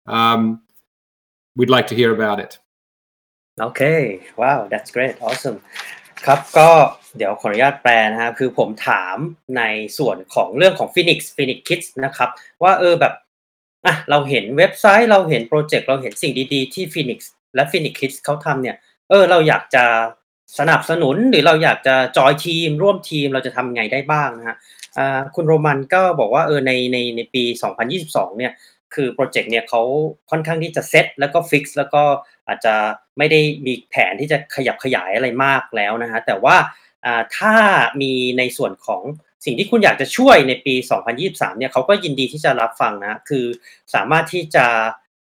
we'd like to hear about it. Okay, wow, that's great, awesome. ครับก็เดี๋ยวขออนุญาตแปลนะครับคือผมถามในส่วนของเรื่องของ Phoenix Kids นะครับว่าแบบเราเห็นเว็บไซต์เราเห็นโปรเจกต์เราเห็นสิ่งดีๆที่ Phoenix และ Phoenix Kids เขาทำเนี่ยเราอยากจะสนับสนุนหรือเราอยากจะจอยทีมร่วมทีมเราจะทำไงได้บ้างนะฮะคุณโรมันก็บอกว่าในปี2022เนี่ยคือโปรเจกต์เนี่ยเขาค่อนข้างที่จะเซตแล้วก็ฟิกซ์แล้วก็อาจจะไม่ได้มีแผนที่จะขยับขยายอะไรมากแล้วนะฮะแต่ว่าถ้ามีในส่วนของสิ่งที่คุณอยากจะช่วยในปี2023เนี่ยเขาก็ยินดีที่จะรับฟังนะคือสามารถที่จะ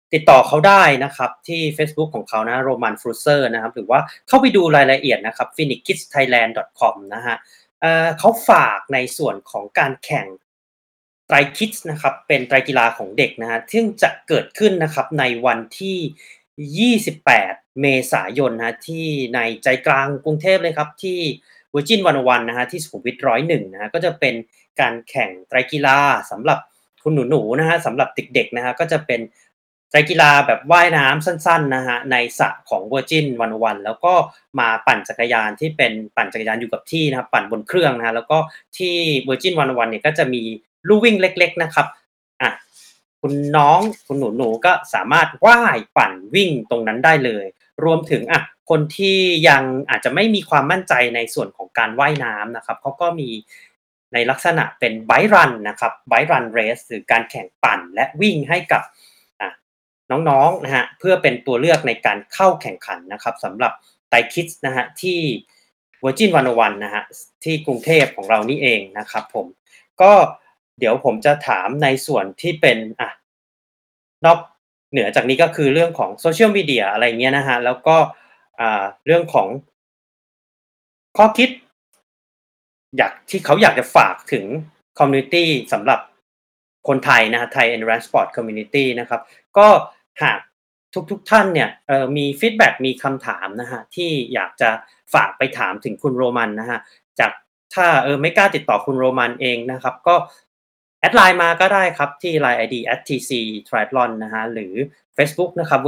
ติดต่อเขาได้นะครับที่ Facebook ของเขานะโรมันฟรูเซอร์นะครับหรือว่าเข้าไปดูรายละเอียดนะครับ phoenixkidsthailand.com นะฮะเขาฝากในส่วนของการแข่งไตรคิดนะครับเป็นไตรกีฬาของเด็กนะฮะซึ่งจะเกิดขึ้นนะครับในวันที่28เมษายนนะที่ในใจกลางกรุงเทพเลยครับที่ Virgin 101นะฮะที่สุขุมวิท101นะฮะก็จะเป็นการแข่งไตรกีฬาสำหรับคุณหนูๆนะฮะสำหรับเด็กๆนะฮะก็จะเป็นไตรกีฬาแบบว่ายน้ำสั้นๆนะฮะในสระของ Virgin 101แล้วก็มาปั่นจักรยานที่เป็นปั่นจักรยานอยู่กับที่นะครับปั่นบนเครื่องนะฮะแล้วก็ที่ Virgin 101เนี่ยก็จะมีลู่วิ่งเล็กๆนะครับอ่ะคุณน้องคุณหนูๆก็สามารถว่ายปั่นวิ่งตรงนั้นได้เลยรวมถึงคนที่ยังอาจจะไม่มีความมั่นใจในส่วนของการว่ายน้ำนะครับเขาก็มีในลักษณะเป็น Bike Run นะครับ Bike Run Race หรือการแข่งปั่นและวิ่งให้กับน้องๆนะฮะเพื่อเป็นตัวเลือกในการเข้าแข่งขันนะครับสำหรับไตรคิดนะฮะที่ Virgin 101นะฮะที่กรุงเทพของเรานี่เองนะครับผมก็เดี๋ยวผมจะถามในส่วนที่เป็นนอกเหนือจากนี้ก็คือเรื่องของโซเชียลมีเดียอะไรเงี้ยนะฮะแล้วก็เรื่องของข้อคิดที่เขาอยากจะฝากถึงคอมมิวนิตีสำหรับคนไทยนะฮะไทย Endurance Sport Community นะครับก็หากทุกท่านเนี่ยมีฟีดแบ็กมีคำถามนะฮะที่อยากจะฝากไปถามถึงคุณโรมันนะฮะจากถ้าไม่กล้าติดต่อคุณโรมันเองนะครับก็แอดไลน์มาก็ได้ครับที่ Line ID @tctriathlon นะฮะหรือ Facebook นะครับ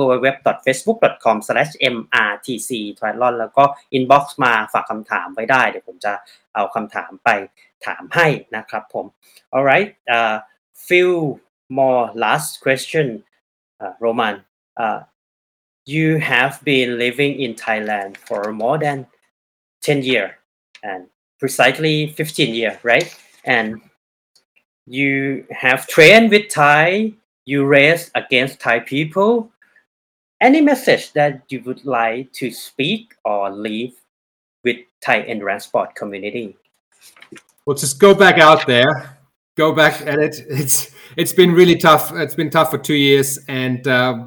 www.facebook.com/mrtctriathlon แล้วก็ inbox มาฝากคำถามไว้ได้เดี๋ยวผมจะเอาคำถามไปถามให้นะครับผม alright few more last question Roman you have been living in Thailand for more than 10 years and precisely 15 years right and you have trained with Thai you race against Thai people any message that you would like to speak or leave with Thai endurance sport community Well, just go back out there, go back at it. It's been really tough. It's been tough for 2 years, and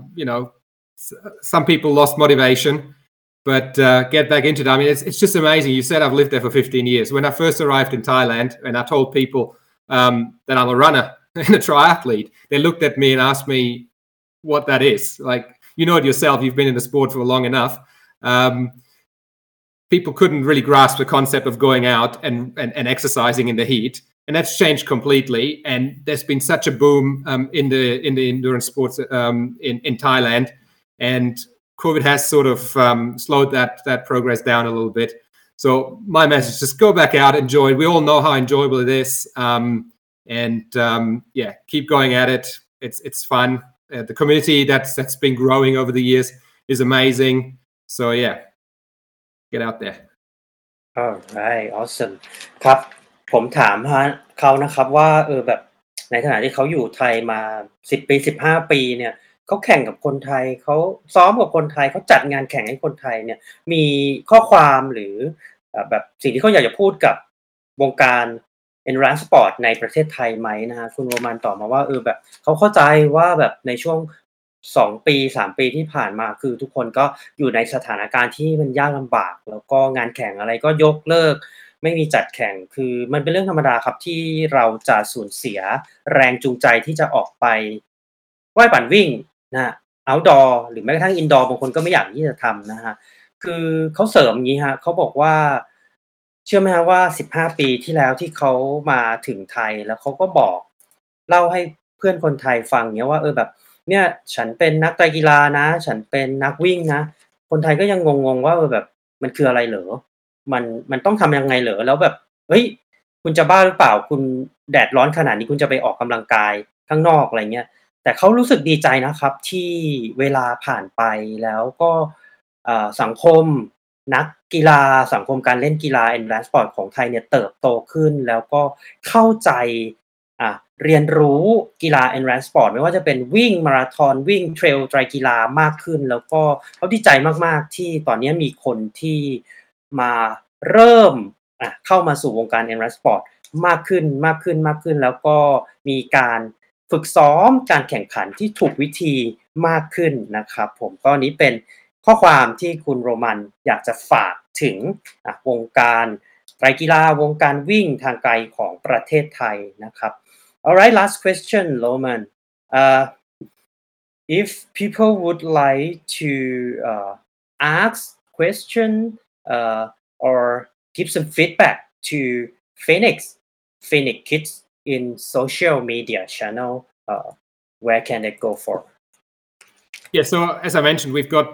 some people lost motivation, but get back into it. I mean, it's just amazing. You said I've lived there for 15 years. When I first arrived in Thailand, and I told people that I'm a runner and a triathlete, they looked at me and asked me what that is. Like, you know it yourself. You've been in the sport for long enough. People couldn't really grasp the concept of going out and exercising in the heat, and that's changed completely. And there's been such a boom in the endurance sports in Thailand, and COVID has sort of slowed that progress down a little bit. So my message: just go back out, enjoy it. We all know how enjoyable it is, keep going at it. It's fun. The community that's been growing over the years is amazing. So get out there. Alright awesome ครับผมถามเขานะครับว่าแบบในขณะที่เขาอยู่ไทยมา10ปี15ปีเนี่ยเขาแข่งกับคนไทยเขาซ้อมกับคนไทยเขาจัดงานแข่งให้คนไทยเนี่ยมีข้อความหรือแบบสิ่งที่เขาอยากจะพูดกับวงการ Endurance Sport ในประเทศไทยไหมนะฮะคุณโรมันตอบมาว่าแบบเขาเข้าใจว่าแบบในช่วง2ปี3ปีที่ผ่านมาคือทุกคนก็อยู่ในสถานการณ์ที่มันยากลำบากแล้วก็งานแข่งอะไรก็ยกเลิกไม่มีจัดแข่งคือมันเป็นเรื่องธรรมดาครับที่เราจะสูญเสียแรงจูงใจที่จะออกไปว่ายปั่นวิ่งนะฮะ outdoor หรือแม้กระทั่ง indoor บางคนก็ไม่อยากที่จะทำนะฮะคือเขาเสริมอย่างงี้ฮะเขาบอกว่าเชื่อไหมฮะว่า15ปีที่แล้วที่เขามาถึงไทยแล้วเขาก็บอกเล่าให้เพื่อนคนไทยฟังเงี้ยว่าแบบเนี่ยฉันเป็นนักไตรกีฬานะฉันเป็นนักวิ่งนะคนไทยก็ยังงงๆว่าแบบมันคืออะไรเหรอมันต้องทำยังไงเหรอแล้วแบบเฮ้ยคุณจะบ้าหรือเปล่าคุณแดดร้อนขนาดนี้คุณจะไปออกกำลังกายข้างนอกอะไรเงี้ยแต่เขารู้สึกดีใจนะครับที่เวลาผ่านไปแล้วก็สังคมนักกีฬาสังคมการเล่นกีฬา Endurance Sport ของไทยเนี่ยเติบโตขึ้นแล้วก็เข้าใจเรียนรู้กีฬา Endurance Sport ไม่ว่าจะเป็นวิ่งมาราธอนวิ่งเทรลไตรกีฬามากขึ้นแล้วก็เขาดีใจมากๆที่ตอนนี้มีคนที่มาเริ่มเข้ามาสู่วงการ Endurance Sport มากขึ้นแล้วก็มีการฝึกซ้อมการแข่งขันที่ถูกวิธีมากขึ้นนะครับผมก็นี้เป็นข้อความที่คุณโรมันอยากจะฝากถึงวงการไตรกีฬาวงการวิ่งทางไกลของประเทศไทยนะครับ Alright, last question, Roman. If people would like to ask question or give some feedback to Phoenix Kids in social media channel, where can they go for? Yeah, so as I mentioned, we've got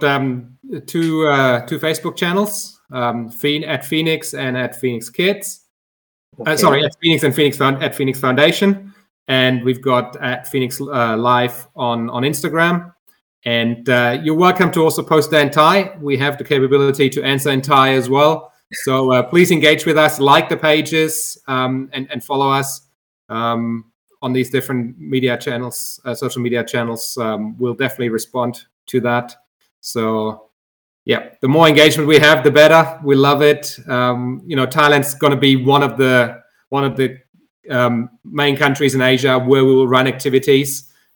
two Facebook channels, at Phoenix and at Phoenix Kids. Sorry, at Phoenix and at Phoenix Foundation, and we've got at Phoenix Live on Instagram. And you're welcome to also post that in Thai. We have the capability to answer in Thai as well. So please engage with us, like the pages, and follow us on these different media channels, social media channels. We'll definitely respond to that. So yeah, the more engagement we have, the better. We love it. Thailand's going to be one of the main countries in Asia where we will run activities.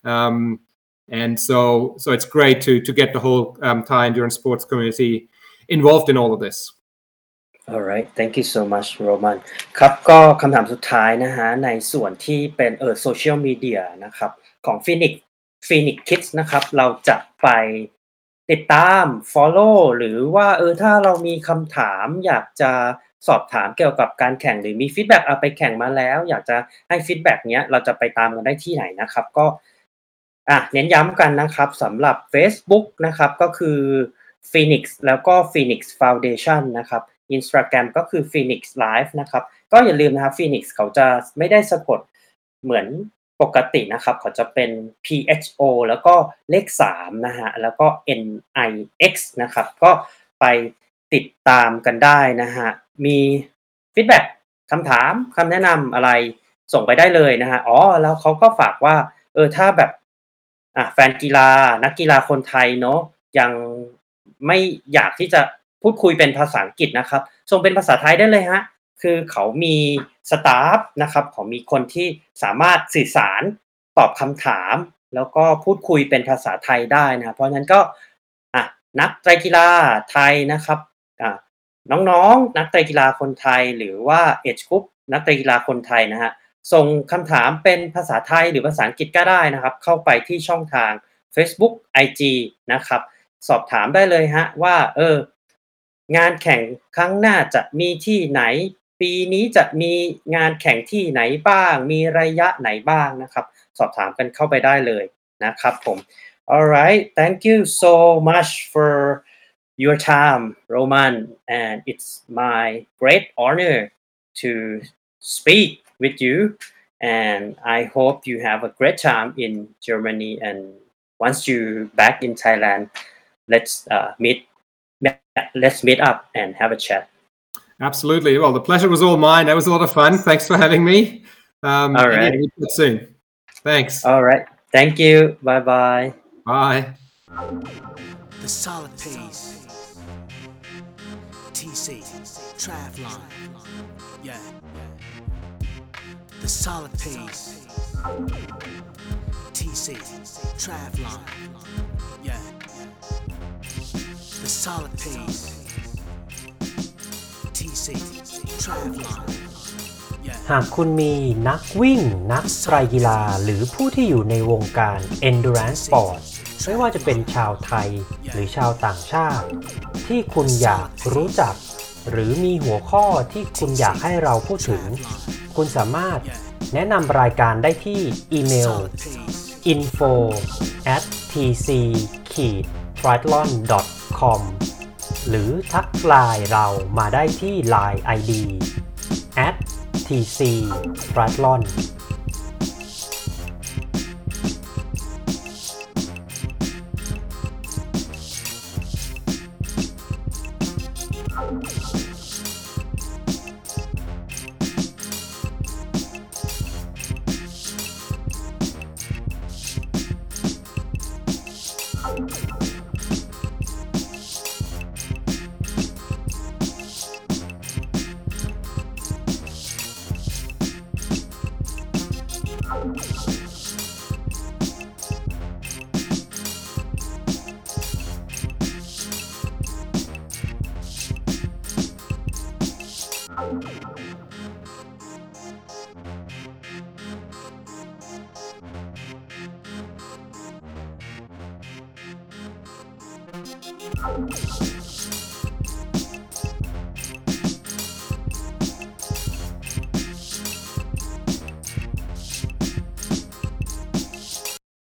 And so it's great to get the whole Thai endurance sports community involved in all of this. Alright, thank you so much, Roman. ครับก็คำถามสุดท้ายนะฮะในส่วนที่เป็นโซเชียลมีเดียนะครับของ Phoenix Kids นะครับเราจะไปติดตาม follow หรือว่าถ้าเรามีคำถามอยากจะสอบถามเกี่ยวกับการแข่งหรือมีฟีดแบ็กไปแข่งมาแล้วอยากจะให้ฟีดแบ็กเนี้ยเราจะไปตามกันได้ที่ไหนนะครับก็เน้นย้ำกันนะครับสำหรับ Facebook นะครับก็คือ Phoenix แล้วก็ Phoenix Foundation นะครับ Instagram ก็คือ Phoenix Live นะครับก็อย่าลืมนะครับ Phoenix เขาจะไม่ได้สะกดเหมือนปกตินะครับเขาจะเป็น PHO แล้วก็เลข3นะฮะแล้วก็ NIX นะครับก็ไปติดตามกันได้นะฮะมีฟีดแบ็กคำถามคำแนะนำอะไรส่งไปได้เลยนะฮะแล้วเขาก็ฝากว่าถ้าแบบแฟนกีฬานักกีฬาคนไทยเนาะยังไม่อยากที่จะพูดคุยเป็นภาษาอังกฤษนะครับส่งเป็นภาษาไทยได้เลยฮะคือเขามีสตาฟนะครับเขามีคนที่สามารถสื่อสารตอบคำถามแล้วก็พูดคุยเป็นภาษาไทยได้นะเพราะฉะนั้นก็นักไตรกีฬาไทยนะครับน้องๆนักไตรกีฬาคนไทยหรือว่าเอจกรุ๊ปนักไตรกีฬาคนไทยนะฮะส่งคำถามเป็นภาษาไทยหรือภาษาอังกฤษก็ได้นะครับเข้าไปที่ช่องทาง Facebook IG นะครับสอบถามได้เลยฮะว่างานแข่งครั้งหน้าจะมีที่ไหนปีนี้จะมีงานแข่งที่ไหนบ้างมีระยะไหนบ้างนะครับสอบถามกันเข้าไปได้เลยนะครับผม Alright, thank you so much for your time, Roman, and it's my great honor to speak with you, and I hope you have a great time in Germany, and once you back in Thailand, let's meet up and have a chat. Absolutely. Well, the pleasure was all mine. That was a lot of fun. Thanks for having me. All right. We'll meet soon. Thanks. All right. Thank you. Bye-bye. Bye. The solid pace. TC Triathlon. Yeah. The solid pace. TC Triathlon. Yeah. The solid pace. TC Triathlon. Yeah. หากคุณมีนักวิ่งนักไตรกีฬาหรือผู้ที่อยู่ในวงการ Endurance Sport ไม่ว่าจะเป็นชาวไทยหรือชาวต่างชาติที่คุณอยากรู้จักหรือมีหัวข้อที่คุณอยากให้เราพูดถึงคุณสามารถแนะนำรายการได้ที่อีเมล info@tc-triathlon.com หรือทักไลน์เรามาได้ที่ Line ID @tc-triathlon Solid